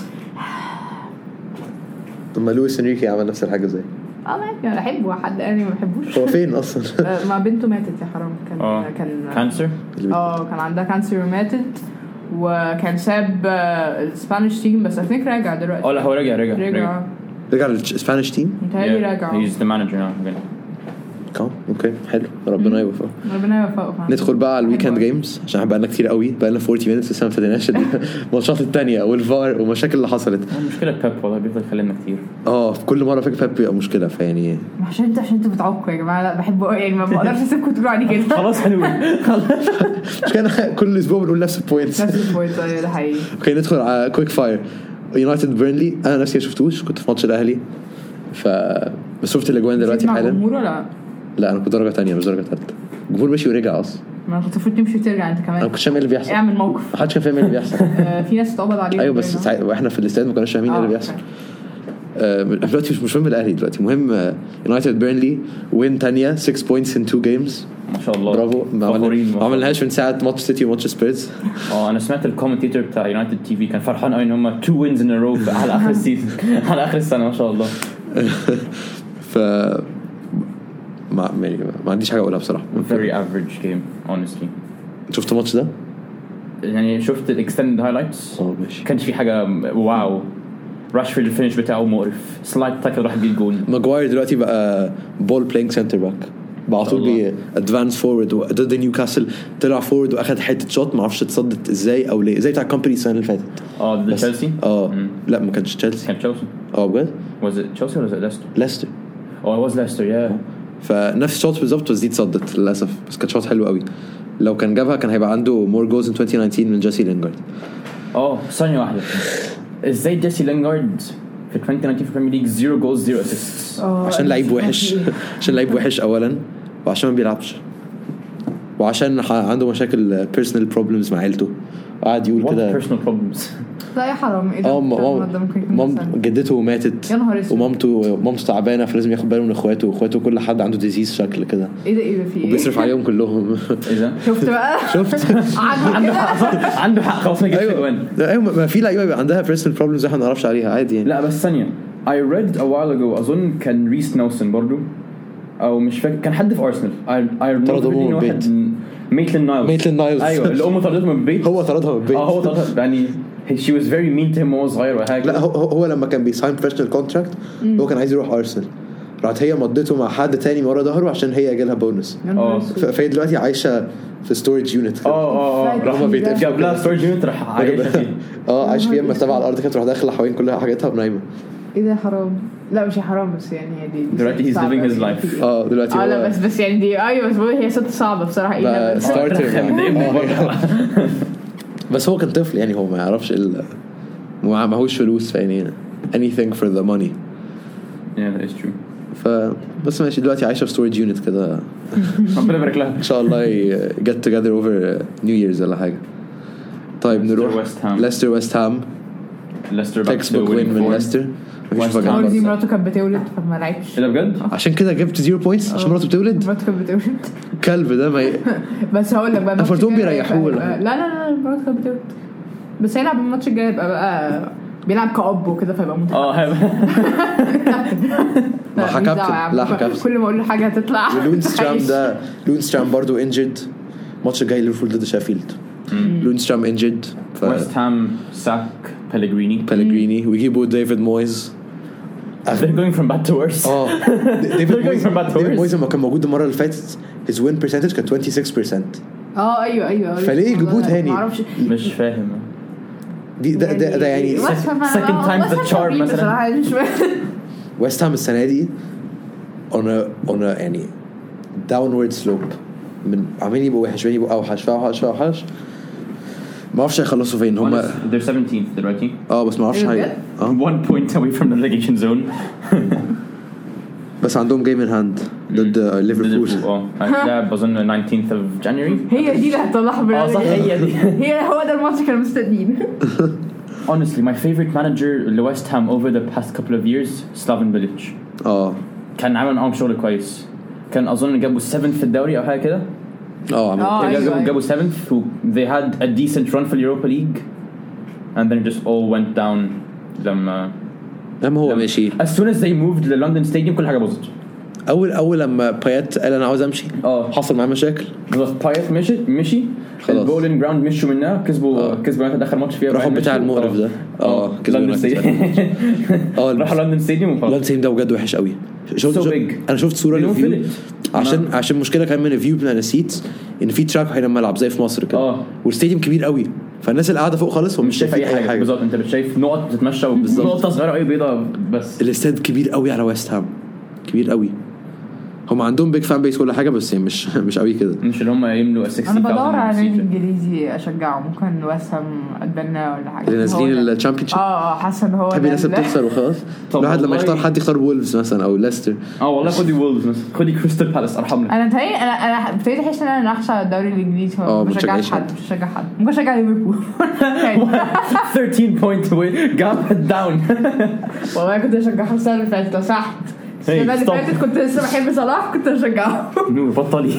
طب ما لويس انريكي عمل نفس الحاجه زي اه انا بحبه حد انا ما بحبوش هو فين اصلا ما بنته ماتت يا حرام كان أوه. كان كانسر اه كان عندها كانسر وماتت وكان ساب الاسبانيش تيم بس اثنيك راجع دلوقتي اه لا هو رجع رجع رجع رجع الاسبانيش تيم متهيألي راجع he's the manager now كم اوكي حلو ربنا يوفقه ربنا يوفقه ندخل بقى على الويكند جيمز عشان بقى لنا كتير قوي بقى لنا أربعين مينتس لسه ما ابتديناش الماتشات الثانيه والفار والمشاكل اللي حصلت مشكله بيب والله بيفضل يخلينا كتير اه في كل مره فاكر بيب بيبقى مشكله فيعني عشان انت عشان انتوا بتعقوا يا جماعه لا بحبه يعني ما بقدرش اسيبكم تقولوا عليه كده خلاص حلو خلاص مش كان كل اسبوع بنقول نفس البوينتس نفس البوينتس ده حقيقي اوكي ندخل على كويك فاير يونايتد بيرنلي انا نفسي ما شفتوش كنت في ماتش الاهلي ف بس شفت الاجوان دلوقتي حالا لا لا انا كنت درجه ثانيه مش درجه ثالثه الجمهور مشي ورجع اصلا ما كنت المفروض تمشي وترجع انت كمان انا كنت فاهم ايه اللي بيحصل اعمل موقف ما حدش كان فاهم ايه اللي بيحصل في ناس اتقبض عليهم ايوه بس سع... واحنا في الاستاد ما كناش فاهمين ايه اللي بيحصل دلوقتي مش مش مهم الاهلي دلوقتي مهم يونايتد بيرنلي وين ثانيه ستة بوينتس ان تو جيمز ما شاء الله برافو ما عملناش من ساعه ماتش سيتي وماتش سبيرز اه انا سمعت الكومنتيتور بتاع يونايتد تي في كان فرحان قوي ان هم تو وينز ان رو على اخر السيزون على اخر السنه ما شاء الله ف ما ما عنديش حاجه اقولها بصراحه very average game honestly شفت الماتش ده يعني شفت الاكستندد هايلايتس اه ماشي كانش في حاجه واو راشفورد الفينش بتاعه مقرف سلايد تاكل راح يجيب جول ماجواير دلوقتي بقى بول بلاينج سنتر باك بقى طول بي ادفانس فورورد ضد نيوكاسل طلع فورورد واخد حته شوت ما اعرفش اتصدت ازاي او ليه زي بتاع كومباني السنه اللي فاتت اه ضد تشيلسي اه لا ما كانش تشيلسي كان تشيلسي اه بجد was it تشيلسي ولا ليستر ليستر اه it was ليستر يا فنفس الشوت بالظبط بس دي اتصدت للاسف بس كانت شوت حلو قوي لو كان جابها كان هيبقى عنده مور جولز ان twenty nineteen من جيسي لينجارد اه ثانيه واحده ازاي جيسي لينجارد في twenty nineteen في البريمير ليج زيرو جولز زيرو اسيستس عشان لعيب وحش عشان لعيب وحش اولا وعشان ما بيلعبش وعشان عنده مشاكل personal problems مع عيلته قاعد يقول كده personal problems لا يا حرام ايه ده اه مام جدته ماتت ومامته مامته تعبانه فلازم ياخد باله من اخواته واخواته كل حد عنده ديزيز شكل كده ايه ده ايه ده في ايه وبيصرف عليهم كلهم ايه ده شفت بقى شفت عنده حق عنده حق خلاص نجيب الوان ايوه ما في لعيبه بيبقى عندها personal problems احنا ما نعرفش عليها عادي يعني لا بس ثانيه I read a while ago اظن كان ريس نيلسون برضو او مش فاكر كان حد في ارسنال I I remember واحد ميتلين نايلز ميتلين نايلز ايوه اللي امه طردته من البيت هو طردها من البيت اه هو طردها يعني she was very mean to him وهو صغير وحاجه. لا هو هو لما كان بيساين بروفيشنال كونتراكت هو كان عايز يروح ارسنال راحت هي مضيته مع حد تاني ورا ظهره عشان هي جالها بونس اه فهي دلوقتي عايشه في ستورج يونت اه اه راح جاب لها ستورج يونت راح عايشه فيه اه عايشه فيها مرتبه على الارض كانت تروح داخله حوالين كل حاجاتها ونايمه. ايه ده حرام؟ لا مش حرام بس يعني هي دي دلوقتي he's living his life اه دلوقتي اه لا بس بس يعني دي ايوه بس هي ست صعبه بصراحه ايه ستارتر بس هو كان طفل يعني هو ما يعرفش ال ما معهوش فلوس يعني anything for the money. yeah that is true. ف بس ماشي دلوقتي عايشه في ستورج يونت كده ربنا يبارك لها ان شاء الله get together over New Year's ولا حاجه. طيب نروح ليستر ويست هام. ليستر تكست بوك وين من ليستر دي مراته كانت بتولد فما لعبش ايه ده بجد عشان كده جبت زيرو بوينتس عشان مراته بتولد مراته كانت بتولد كلب ده ما ي... بس هقول لك بقى افرتون بيريحوه لا لا لا مراته كانت بتولد بس هيلعب الماتش الجاي يبقى بقى بيلعب كأب وكده فيبقى متعب اه ما حكبت لا حكبت كل ما اقول له حاجه هتطلع. لونسترام ده لونسترام برضو انجد الماتش الجاي ليفربول ضد شيفيلد لونسترام انجد ويست هام ساك بيلغريني بيلغريني ويجيبوا ديفيد مويز. they're going from bad to worse اه ديفيد مويز ديفيد مويز لما كان موجود المره اللي فاتت his win percentage كان ستة وعشرين بالمية. اه ايوه ايوه فليه يجيبوه تاني مش فاهم دي ده ده, ده يعني second time the charm مثلا. ويست هام السنه دي on a on a يعني downward slope من عمالين يبقوا وحش عمالين يبقوا اوحش فاوحش فاوحش ما اعرفش يخلصوا فين هم they're seventeenth دلوقتي اه بس ما اعرفش هاي one point away from the relegation zone بس عندهم جيم ان هاند ضد ليفربول اه هتلعب اظن nineteenth of January. هي دي اللي هتطلعها من اه صح هي دي هي هو ده الماتش كانوا مستنيين. honestly my favorite manager لويست هام over the past couple of years Slaven Bilic. اه كان عامل معاهم شغل كويس كان اظن جابوا seventh في الدوري او حاجه كده اه عملوا جابوا جابوا seventh they had a decent run في اليوروبا ليج and then it just all went down لما لما هو ماشي as soon as they moved للندن ستاديوم كل حاجه باظت. اول اول لما بايت قال انا عاوز امشي اه حصل معاه مشاكل بالظبط بايت مشي مشي البولينج جراوند مشوا منها كسبوا آه. كسبوا يونايتد اخر ماتش فيها راحوا بتاع المقرف ده اه لندن ستاديوم اه راحوا لندن ستاديوم وخلاص. لندن ستاديوم ده بجد وحش قوي. شفت so انا شفت صوره للفيو عشان آه. عشان مشكله كمان من الفيو بتاع السيتس ان في تراك حين الملعب زي في مصر كده اه والستاديوم كبير قوي فالناس اللي قاعده فوق خالص هم مش شايفين اي حاجه بالظبط انت بتشايف نقط بتتمشى ونقطه صغيره قوي بيضاء بس الاستاد كبير قوي على ويست هام كبير قوي. هم عندهم بيج فان بيس كل حاجه بس مش مش قوي كده مش اللي هم يملوا ستين انا بدور على نادي انجليزي اشجعه ممكن ويست هام اتبنى ولا حاجه اللي نازلين الشامبيونشيب اه حاسه ان هو تبي الناس بتخسر وخلاص. الواحد لما يختار حد يختار وولفز مثلا او ليستر اه والله خدي وولفز مثلا خدي كريستال بالاس ارحمنا. انا تهي انا انا ابتديت احس ان انا نحشه الدوري الانجليزي ما بشجعش حد مش بشجع حد ممكن اشجع ليفربول thirteen point away جاب داون والله كنت اشجع السنه اللي فاتت لو سمحت السنه اللي فاتت كنت لسه بحب صلاح كنت اشجعه نور بطلي.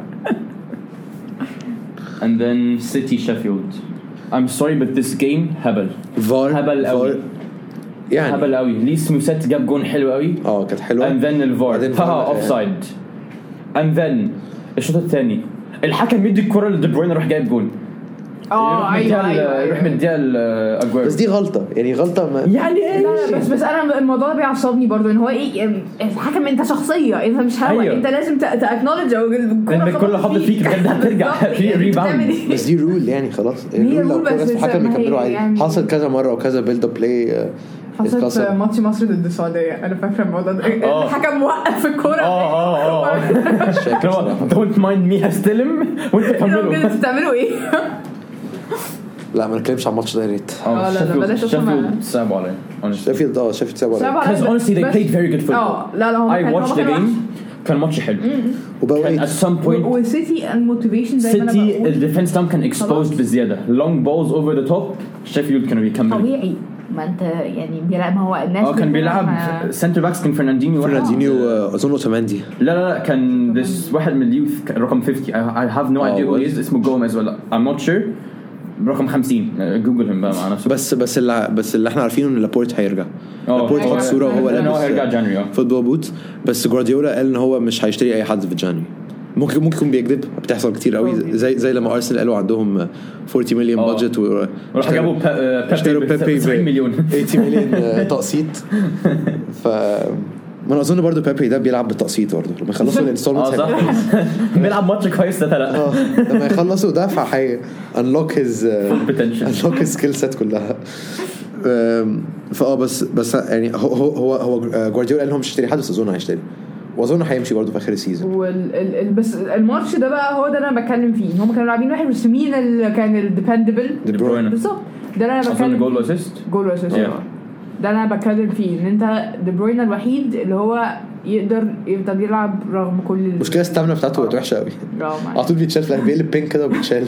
and then City Sheffield I'm sorry but this game هبل هبل قوي يعني هبل قوي. ليس موسات جاب جون حلو قوي اه كانت حلوه and then الفار ها اوفسايد and then الشوط الثاني الحكم يدي الكره لدي بروين يروح جايب جون اه ايوه ايوه يروح مديها الاجويرو بس دي غلطه يعني غلطه ما يعني ايه لا بس بس انا الموضوع ده بيعصبني برضو ان هو ايه الحكم انت شخصيه انت مش هوا أيوه. انت لازم تاكنولج ان كل خبطه فيك بجد هترجع في ريباوند بس دي رول يعني خلاص الرول لو بس الحكم يكملوا عادي يعني حصل كذا مره وكذا بيلد اب بلاي حصلت في ماتش مصر ضد السعوديه انا فاكره الموضوع ده الحكم موقف الكوره اه اه اه دونت مايند مي هستلم وانت كملوا انتوا بتعملوا ايه لا ما نتكلمش عن الماتش ده يا ريت. اه لا لا بلاش شيفيلد صعب عليه شيفيلد اه شيفيلد صعب عليه because honestly they played very good football. اه لا لا هم I watched the game كان ماتش حلو وبقى at some point وسيتي الموتيفيشن زي ما انا بقول سيتي الديفنس تام كان exposed بزياده long balls over the top شيفيلد كانوا بيكملوا طبيعي ما انت يعني بيلعب ما هو الناس اه كان بيلعب سنتر باكس كان فرناندينيو فرناندينيو اظن اوتاماندي لا لا لا كان this واحد من اليوث رقم fifty I have no idea who he is اسمه جوميز ولا I'm not sure رقم خمسين جوجلهم بقى مع نفسه بس بس اللي بس اللي احنا عارفينه ان لابورت هيرجع لابورت خد صوره وهو لابس هيرجع جانوري فوتبول بوت بس جوارديولا قال ان هو مش هيشتري اي حد في جانوري ممكن ممكن يكون بيكذب بتحصل كتير قوي زي زي لما ارسنال قالوا عندهم أربعين مليون بادجت وراح جابوا بيبي تسعين مليون ثمانين مليون تقسيط. ف ما انا اظن برضو بيبي ده بيلعب بالتقسيط برضو لما يخلصوا الانستولمنت بيلعب ماتش كويس ده لا لما يخلصوا ده فهي انلوك هيز انلوك هيز سكيل سيت كلها. فاه بس بس يعني هو هو هو جوارديولا قال لهم مش هيشتري حد بس اظن هيشتري واظن هيمشي برضو في اخر السيزون. وال بس الماتش ده بقى هو ده اللي انا بتكلم فيه ان هم كانوا لاعبين واحد بس مين اللي كان الديبندبل بالظبط ده اللي انا بتكلم جول اسيست جول اسيست ده انا بتكلم فيه ان انت دي بروين الوحيد اللي هو يقدر يفضل يلعب رغم كل المشكله الستامنا بتاعته بقت وحشه قوي على طول بيتشال في بيقلب بينك كده وبيتشال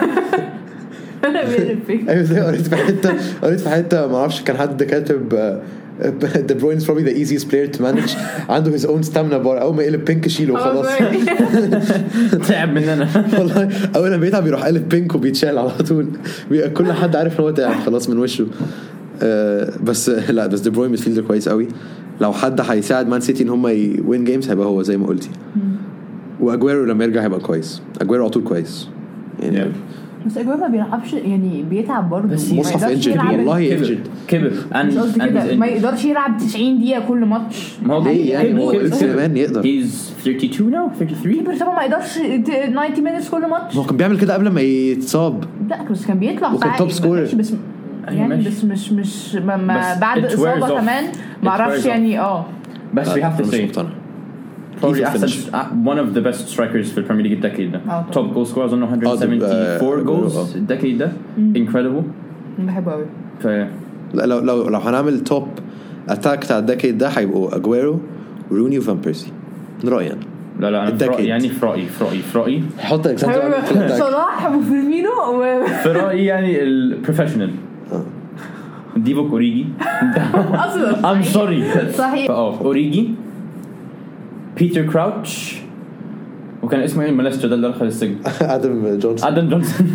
ايوه زي قريت في حته قريت في حته ما اعرفش كان حد كاتب De Bruyne is probably the easiest player to manage عنده his own stamina bar اول ما يقلب بينك شيله وخلاص تعب مننا والله اول ما بيتعب بيروح قلب بينك وبيتشال على طول كل حد عارف ان هو تعب خلاص من وشه. بس لا بس دي بروين ميدفيلدر كويس قوي لو حد هيساعد مان سيتي ان هم يوين جيمز هيبقى هو زي ما قلتي. واجويرو لما يرجع هيبقى كويس اجويرو على طول كويس يعني yeah. بس اجويرو ما بيلعبش يعني بيتعب برضه مصحف انجد والله انجد كبر ما يقدرش يلعب تسعين دقيقه كل ماتش ما هو ليه يعني هو كمان يقدر he's thirty-two now thirty-three بس طبعا ما يقدرش ninety minutes كل ماتش. هو كان بيعمل كده قبل ما يتصاب لا بس كان بيطلع وكان توب سكورر بس يعني بس مش مش ما بعد اصابه كمان ما اعرفش يعني اه بس we have to say probably أحسن one of the best strikers في البريمير ليج الدكيد ده top goal scorers on one hundred seventy-four goals الدكيد ده incredible بحبه قوي. ف لو لو لو هنعمل توب اتاك بتاع الدكيد ده هيبقوا اجويرو روني وفان بيرسي رأيي أنا. لا لا أنا فرأي يعني فرأي فرأي فرأي حط اكزامبل صلاح وفيرمينو فرأي يعني البروفيشنال ديفوك أوريجي أصلاً I'm sorry صحيح اه أوريجي بيتر كراوتش وكان اسمه ايه الملستر ده اللي دخل السجن آدم جونسون آدم جونسون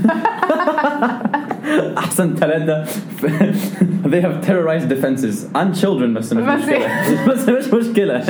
أحسن ثلاثة they have terrorized defenses and children بس مش مشكلة بس مش مشكلة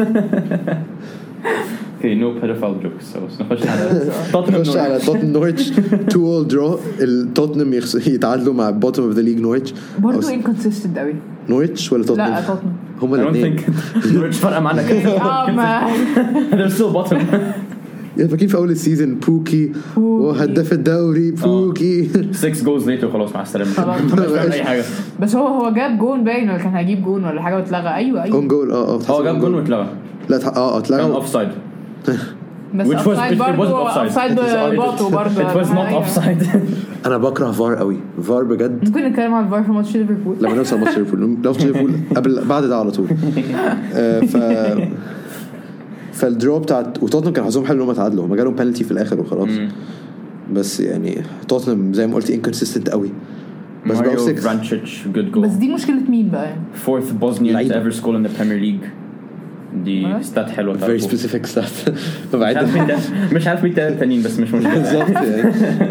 Okay, no pedophile jokes. So نخش على توتنهام نخش على توتنهام نورتش two all draw. التوتنهام يتعادلوا مع bottom of the league نورتش. برضو inconsistent قوي. نورتش ولا توتنهام؟ لا توتنهام. هما الاثنين. نورتش فرق معنا كده. آه ما. They're still bottom. يعني فاكرين في أول السيزون بوكي وهداف الدوري بوكي. Six goals later خلاص مع السلامة. أي حاجة. بس هو هو جاب جون باين ولا كان هيجيب جون ولا حاجة واتلغى أيوة أيوة. on goal آه آه. هو جاب جون واتلغى. لا اه اتلغى. كان offside. بس which was it wasn't offside. It was not offside. أنا بكره فار قوي. فار بجد. ممكن نتكلم عن فار في ماتش ليفربول. لما نوصل ماتش ليفربول. ماتش ليفربول قبل بعد ده على طول. ف فالدرو بتاعت وتوتنهام كان حظهم حلو انهم تعادلوا. هم جالهم بنالتي في الآخر وخلاص. بس يعني توتنهام زي ما قلت inconsistent قوي. بس Mario Vrancic good goal. بس دي مشكلة مين بقى؟ Fourth Bosnian to ever score in the Premier League. دي ستات حلوة. Very specific stat. مش عارف مين ده. مش عارف مين التانيين بس مش مشكلة. بالظبط يعني.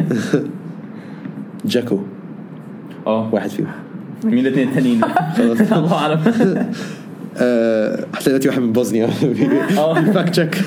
جاكو. اه واحد فيهم. مين الاثنين التانيين؟ الله أعلم. هتلاقي دلوقتي واحد من بوزنيا فاكت تشيك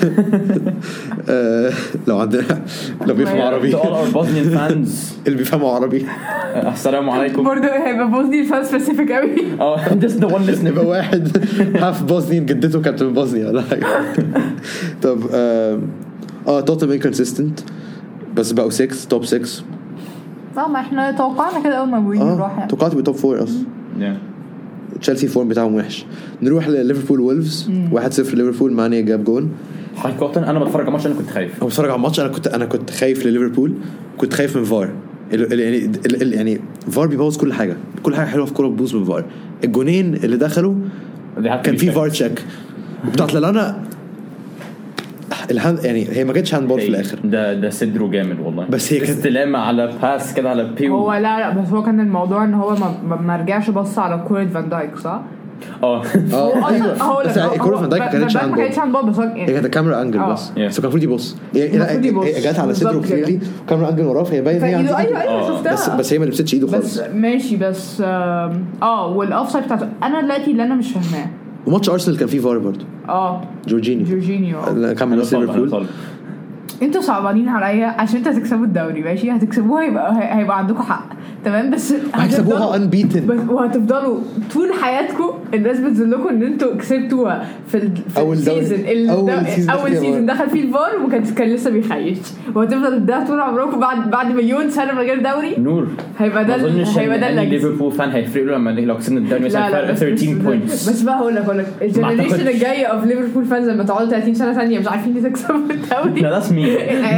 لو عندنا لو بيفهموا عربي اللي بيفهموا عربي السلام عليكم برضه هيبقى بوزني فان سبيسيفيك قوي اه just the one listening يبقى واحد هاف بوزنيان جدته كانت من بوزنيا ولا حاجه. طب اه توتنهام انكونسيستنت بس بقوا ستة توب ستة. اه ما احنا توقعنا كده اول ما بوين نروح يعني توقعت بتوب فور اصلا. تشيلسي فورم بتاعهم وحش. نروح لليفربول وولفز واحد صفر ليفربول. ماني جاب جون. حقيقة أنا بتفرج على الماتش أنا كنت خايف. أنا بتفرج على الماتش أنا كنت أنا كنت خايف لليفربول. كنت خايف من فار. يعني يعني فار بيبوظ كل حاجة. كل حاجة حلوة في كورة بتبوظ من فار. الجونين اللي دخلوا كان في فار تشيك بتاعت لنا الهاند يعني هي ما كانتش هاند بول في الاخر. ده ده صدره جامد والله. بس هي كانت استلامه على باس كده على بيو. هو لا لا بس هو كان الموضوع ان هو ما, ما رجعش بص على كورة فان دايك صح؟ اه اه ايوه بس كورة فان دايك ما كانتش هاند بول. ما كانتش هاند بول بس هي كانت كاميرا انجل بس بس كان المفروض يبص. هي جت على صدره كليرلي كاميرا انجل وراه فهي باين هي ايوه ايوه شفتها. بس بس هي ما لبستش ايده خالص. بس ماشي بس اه والاوفسايد بتاعته انا دلوقتي اللي انا مش فاهماه وماتش ارسنال كان فيه فار برضه. اه جورجينيو جورجينيو كان من ليفربول انتوا صعبانين عليا عشان انتوا هتكسبوا الدوري ماشي هتكسبوها يبقى هيبقى عندكم حق تمام بس هتكسبوها unbeaten وهتفضلوا طول حياتكم الناس بتذلكم ان انتوا كسبتوها في ال... في أول السيزون أول سيزون, اول سيزون دخل فيه الفار وما كانش كان لسه بيخيش وهتفضل ده طول عمركم بعد بعد مليون سنه من غير دوري نور هيبقى ده هيبقى ده اللي ليفربول فان هيفرق له لما لو كسبنا الدوري مثلا فرق ثلاثة عشر بوينتس بس بقى هقول لك هقول لك الجنريشن الجايه اوف ليفربول فانز لما تقعدوا ثلاثين سنه ثانيه مش عارفين تكسبوا الدوري لا ده اسمي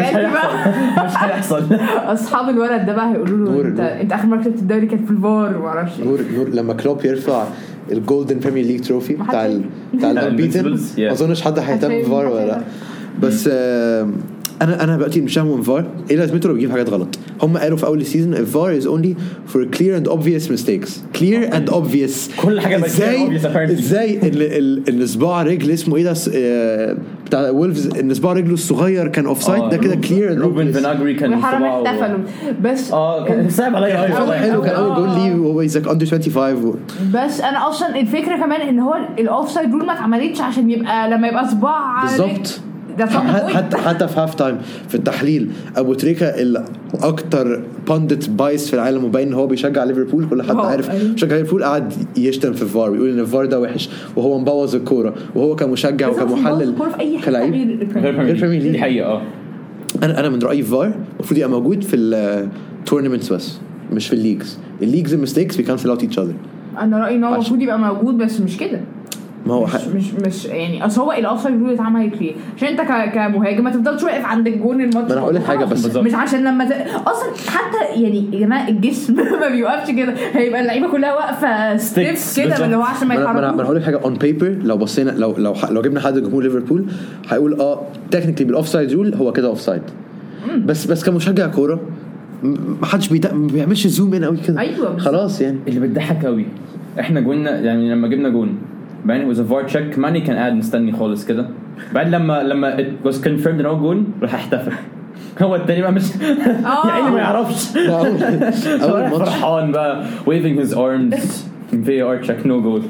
مش هيحصل اصحاب الولد ده بقى هيقولوا له انت انت اخر مره كسبت الدوري كانت في الفار ما اعرفش نور نور لما كلوب يرفع الجولدن بريمير ليج تروفي بتاع ال بتاع البيتن ما اظنش حد هيهتم بالفار ولا لا بس انا انا دلوقتي مش فاهم الفار ايه لازمته لو بيجيب حاجات غلط هم قالوا في اول السيزون الفار is only for clear and obvious mistakes clear and obvious كل حاجه ازاي ازاي ان صباع رجل اسمه ايه ده بتاع وولفز ان صباع رجله الصغير كان اوف سايد ده كده clear and روبن فيناغري كان صباعه احتفلوا بس اه كان صعب عليا قوي حلو كان اول جول ليه وهو يزك اندر خمسة وعشرين بس انا اصلا الفكره كمان ان هو الاوف سايد رول ما اتعملتش عشان يبقى لما يبقى صباع بالظبط حتى حتى في هاف تايم في التحليل ابو تريكه الاكتر باندت بايس في العالم وباين هو بيشجع ليفربول كل حد عارف بيشجع ليفربول قاعد يشتم في الفار ويقول ان الفار ده وحش وهو مبوظ الكوره وهو كمشجع وكمحلل كلاعب غير بريمير ليج حقيقه اه انا انا من رايي الفار المفروض يبقى موجود في التورنمنتس بس مش في الليجز الليجز الميستيكس بيكانسل اوت ايتش اذر انا رايي ان هو المفروض يبقى موجود بس مش كده ما هو مش, مش مش يعني اصل هو الاوفسايد رول اتعمل كتير عشان انت كمهاجم ما تفضلش واقف عند الجون الماتش انا هقول لك حاجه بس مش عشان لما ت... اصلا حتى يعني يا جماعه الجسم ما بيوقفش كده هيبقى اللعيبه كلها واقفه ستيف كده اللي هو عشان ما يتحركوش انا هقول لك حاجه اون بيبر لو بصينا لو لو لو جبنا حد جمهور ليفربول هيقول اه تكنيكلي بالاوفسايد رول هو كده اوفسايد بس بس كمشجع كوره ما حدش بيدق... ما بيعملش زوم ان قوي كده أيوة خلاص يعني اللي بتضحك قوي احنا جولنا يعني لما جبنا جون بعدين was a var check ماني كان قاعد مستني خالص كده بعد لما لما it was confirmed ان هو جون راح احتفل هو التاني بقى مش يعني ما يعرفش اول فرحان بقى waving his arms في ار check no goal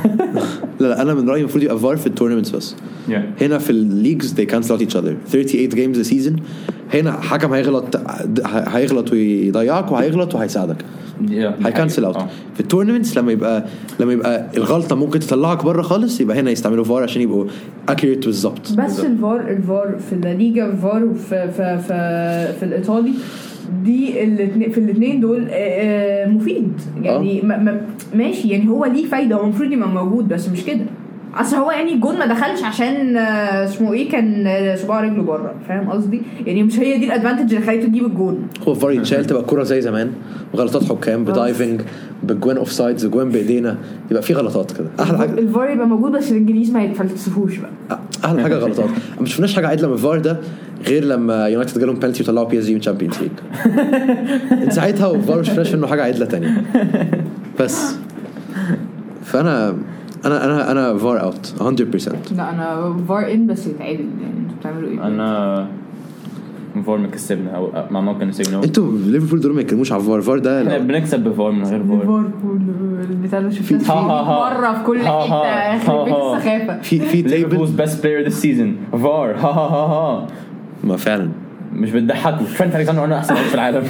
لا لا انا من رايي المفروض يبقى فار في التورنمنتس بس yeah. هنا في الليجز they cancel out each other thirty-eight games a season هنا حكم هيغلط هيغلط ويضيعك وهيغلط وهيساعدك هيكنسل اوت في التورنمنتس لما يبقى لما يبقى الغلطه ممكن تطلعك بره خالص يبقى هنا يستعملوا فار عشان يبقوا اكيوريت بالظبط بس الفار الفار في الليجا الفار في في في, في الايطالي دي الاثنين في الاثنين دول مفيد يعني أه. ماشي يعني هو ليه فايده هو المفروض يبقى موجود بس مش كده اصل هو يعني الجون ما دخلش عشان اسمه ايه كان صباع رجله بره فاهم قصدي يعني مش هي دي الادفانتج اللي خليته يجيب الجون هو فار يتشال تبقى الكوره زي زمان وغلطات حكام بدايفنج بجوان اوف سايدز جوان بايدينا يبقى في غلطات كده احلى حاجه الفار يبقى موجود بس الانجليز ما يتفلسفوش بقى احلى حاجه غلطات ما شفناش حاجه عدله من الفار ده غير لما يونايتد جالهم بنالتي وطلعوا بي اس جي من تشامبيونز ليج ساعتها والفار مش شفناش منه حاجه عدله تانية بس فانا انا انا انا فار اوت one hundred percent لا انا فار ان بس يتعادل يعني انتوا بتعملوا ايه انا فار مكسبنا او ما ممكن نسجنه انتوا ليفربول دول ما يتكلموش على فار فار ده احنا بنكسب بفار من غير فار ليفربول البتاع اللي شفناه مره في كل حته خربت السخافه في في ليفربول's best player this season فار ها ها ها ها ما فعلا مش بتضحكوا ترينت الكسندر انا احسن في العالم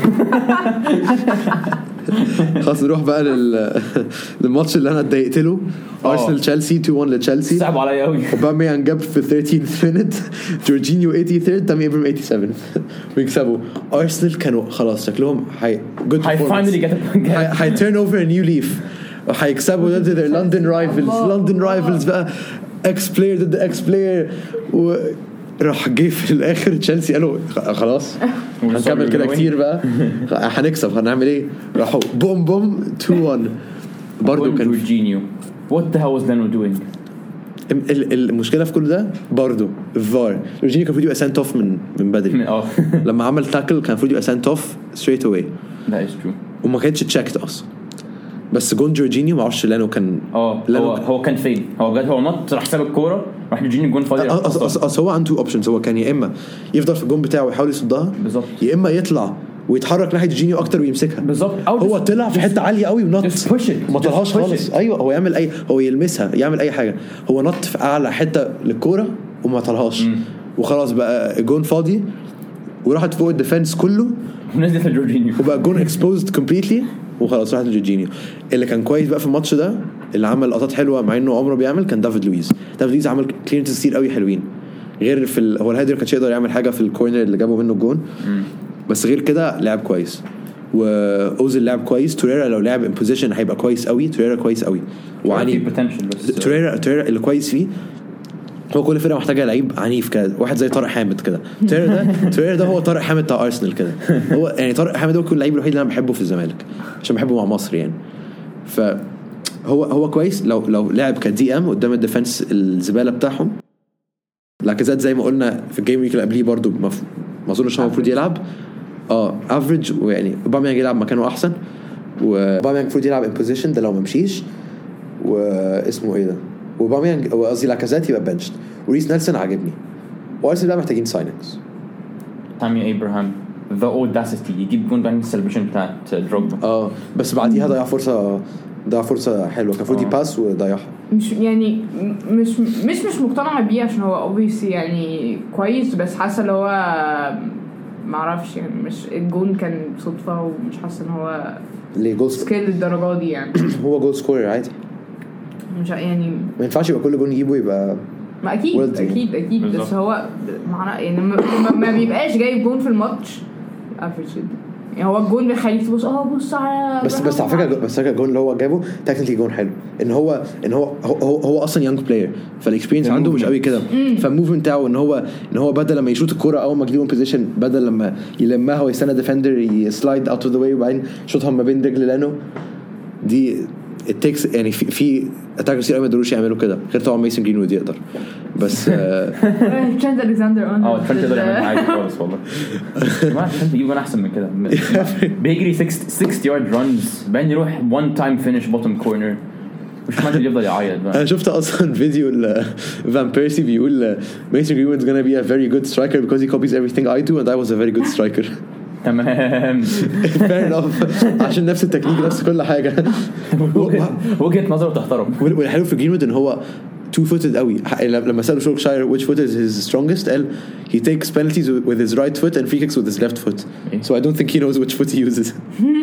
خلاص نروح بقى لل للماتش اللي انا اتضايقت له ارسنال تشيلسي two one لتشيلسي صعب عليا قوي اوباميانج جاب في thirteenth minute جورجينيو eighty-third تامي ابراهيم eighty-seventh ويكسبوا ارسنال كانوا خلاص شكلهم هاي جود هاي فاينلي جت هاي تيرن اوفر نيو ليف وهيكسبوا ضد their London rivals London rivals بقى اكس بلاير ضد اكس بلاير و راح جه في الاخر تشيلسي قالوا خلاص هنكمل كده كتير بقى هنكسب هنعمل ايه راحوا بوم بوم two one برضو كان جورجينيو what the hell was Leno doing المشكله في كل ده برضو الفار جورجينيو كان المفروض يبقى سنت اوف من من بدري لما عمل تاكل كان المفروض يبقى سنت اوف ستريت اواي ده is true وما كانتش تشيكت اصلا بس جون جورجينيو ما اعرفش لانه كان اه هو هو كان فين هو بجد هو نط راح ساب الكوره راح جورجينيو جون فاضي اصل هو عنده اوبشنز هو كان يا اما يفضل في الجون بتاعه ويحاول يصدها بالظبط يا اما يطلع ويتحرك ناحيه جورجينيو اكتر ويمسكها بالظبط هو طلع في حته عاليه قوي ونط ما طلعهاش خالص ايوه هو يعمل اي هو يلمسها يعمل اي حاجه هو نط في اعلى حته للكوره وما طلعهاش وخلاص بقى الجون فاضي وراحت فوق الديفنس كله ونزلت جورجينيو وبقى جون اكسبوزد كومبليتلي وخلاص راحت لجورجينيو. اللي كان كويس بقى في الماتش ده اللي عمل لقطات حلوه مع انه عمره بيعمل كان دافيد لويز. دافيد لويز عمل كليرنس كتير قوي حلوين غير في ال... هو الهيدر كانش يقدر يعمل حاجه في الكورنر اللي جابه منه الجون بس غير كده لعب كويس. واوزيل لعب كويس. توريرا لو لعب ان بوزيشن هيبقى كويس قوي. توريرا كويس قوي وعني توريرا توريرا اللي كويس فيه هو كل فرقه محتاجه لعيب عنيف كده واحد زي طارق حامد كده. توريرا ده توريرا ده هو طارق حامد بتاع ارسنال كده. هو يعني طارق حامد هو كل اللعيب الوحيد اللي انا بحبه في الزمالك عشان بحبه مع مصر يعني. فهو هو كويس لو لو لعب كدي ام قدام الديفنس الزباله بتاعهم. لاكازيت زي ما قلنا في الجيم ويك اللي قبليه برضو ما اظنش هو المفروض يلعب اه افريج ويعني اوباميانج يلعب مكانه احسن واوباميانج المفروض يلعب ان بوزيشن ده لو ما مشيش واسمه ايه ده اوباميانج قصدي لاكازيت يبقى بنشت وريس نيلسون عاجبني وارسنال بقى محتاجين سايننجز. تامي ابراهام ذا اوداسيتي يجيب جون بعد السلبيشن بتاعت دروجبا اه بس بعديها ضيع فرصه ضيع فرصه حلوه كان المفروض يباس وضيعها. مش يعني مش مش مش مقتنعه بيه عشان هو obviously يعني كويس بس حاسه اللي هو ما اعرفش يعني مش الجون كان صدفه ومش حاسه ان هو ليه جول سكيل الدرجه دي يعني. هو جول سكورر عادي مش يعني ما ينفعش يبقى كل جون يجيبه يبقى ما اكيد اكيد اكيد بالزبط. بس هو معناه يعني ما, ما بيبقاش جايب جون في الماتش افريج يعني هو الجون بيخليك تبص اه بص على بس بس على فكره بس الجون اللي هو جابه تكنيكلي جون حلو ان هو ان هو هو, هو اصلا يانج بلاير فالاكسبيرينس عنده مش قوي كده فالموفمنت بتاعه ان هو ان هو بدل لما يشوط الكوره اول ما يجيبه بوزيشن بدل لما يلمها ويستنى ديفندر يسلايد اوت اوف ذا واي وبعدين شوطها ما بين رجل لانو دي التكس يعني في في اتاكرز كتير ما يقدروش يعملوا كده غير طبعا ميسون جرينوود يقدر بس ترينت الكسندر اه ترينت يقدر يعمل حاجه خالص والله ما ترينت يجيب احسن من كده بيجري ستين يارد رانز بعدين يروح وان تايم فينيش بوتوم كورنر مش معنى يفضل يعيط بقى. انا شفت اصلا فيديو فان بيرسي بيقول ميسون جرينوود is gonna be a very good striker because he copies everything I do and I was a very good striker. تمام fair enough عشان نفس التكنيك نفس كل حاجه وجهه نظره تحترم. والحلو في جرينوود ان هو two footed قوي لما سألوا شولكشاير which foot is his strongest قال he takes penalties with his right foot and free kicks with his left foot so I don't think he knows which foot he uses.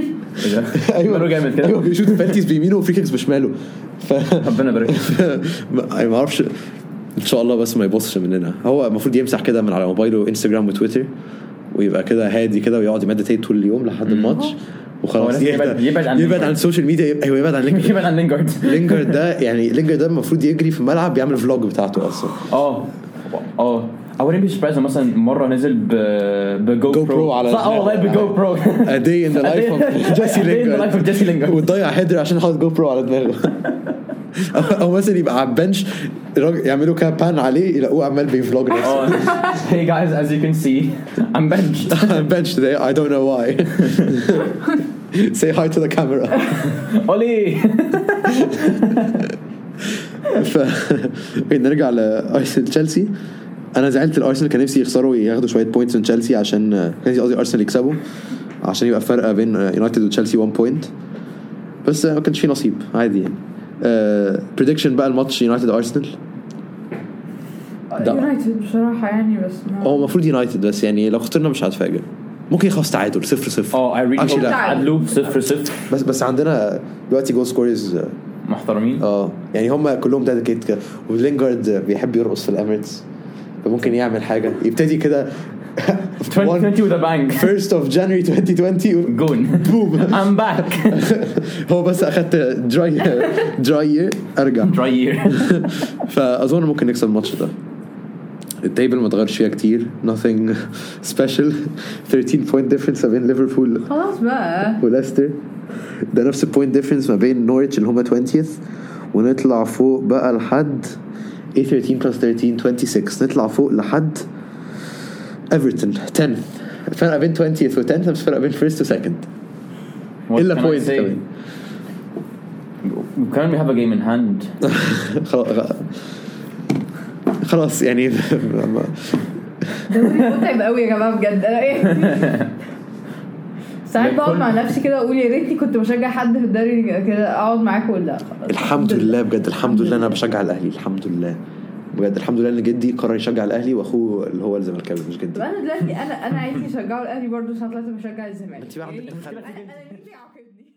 ايوه جامد كده ايوه بيشوط penalties بيمينه وفري كيكس بشماله ف ربنا يبارك ما اعرفش ان شاء الله بس ما يبصش مننا. هو المفروض يمسح كده من على موبايله انستغرام وتويتر ويبقى كده هادي كده ويقعد يمديتيت طول اليوم لحد الماتش وخلاص يبعد يبعد عن يبعد عن السوشيال ميديا. ايوه يبعد عن لينجارد يبعد عن لينجارد لينجارد ده يعني لينجارد ده المفروض يجري في الملعب بيعمل فلوج بتاعته اصلا. اه اه اول بي سبرايز مثلا مره نزل ب بجو برو على اه والله بجو برو a day in the life of جيسي لينجارد جيسي لينجارد وتضيع هيدر عشان حاطط جو برو على دماغه او مثلا يبقى على البنش يعملوا كابان عليه يلاقوه عمال بيفلوج نفسه. Hey guys, as you can see I'm benched I'm benched today I don't know why. Say hi to the camera. Oli. ف نرجع لأرسنال تشيلسي. انا زعلت الارسنال كان نفسي يخسروا ياخدوا شويه بوينتس من تشيلسي عشان كان قصدي ارسنال يكسبوا عشان يبقى فرق بين يونايتد وتشيلسي واحد بوينت بس ما كانش في نصيب عادي يعني. بريدكشن بقى الماتش يونايتد ارسنال يونايتد بصراحه يعني بس هو المفروض يونايتد بس يعني لو خسرنا مش هتفاجئ ممكن يخلص تعادل صفر صفر. اه اي ريلي تعادلوا صفر صفر بس بس عندنا دلوقتي جول سكورز محترمين اه يعني هم كلهم ديديكيت كده ولينجارد بيحب يرقص في الاميريتس فممكن يعمل حاجه يبتدي كده twenty twenty with a bang first of January twenty twenty جون boom I'm back. هو بس اخدت dry dry ارجع dry year فاظن ممكن نكسب الماتش ده. التيبل ما اتغيرش فيها كتير nothing special thirteen point difference بين ليفربول خلاص بقى وليستر ده نفس البوينت ديفرنس ما بين نوريتش اللي هم twentieth ونطلع فوق بقى لحد thirteen plus thirteen twenty-six نطلع فوق لحد ايفرتون tenth. الفرق بين twentieth و tenth بس فرق بين first و second إلا point كمان. كمان we have a game in hand. خلاص يعني دوري متعب قوي يا جماعه بجد. انا ايه ساعات بقعد مع نفسي كده اقول يا ريتني كنت بشجع حد في الدوري كده اقعد معاكم ولا الحمد لله بجد الحمد لله انا بشجع الاهلي الحمد لله بجد الحمد لله ان جدي قرر يشجع الاهلي واخوه اللي هو الزمالكاوي مش جدي. طب انا دلوقتي انا انا عايزه اشجعه الاهلي برضه، ساعات لازم اشجع الزمالك. انت بقى عندك انا انا عاقبني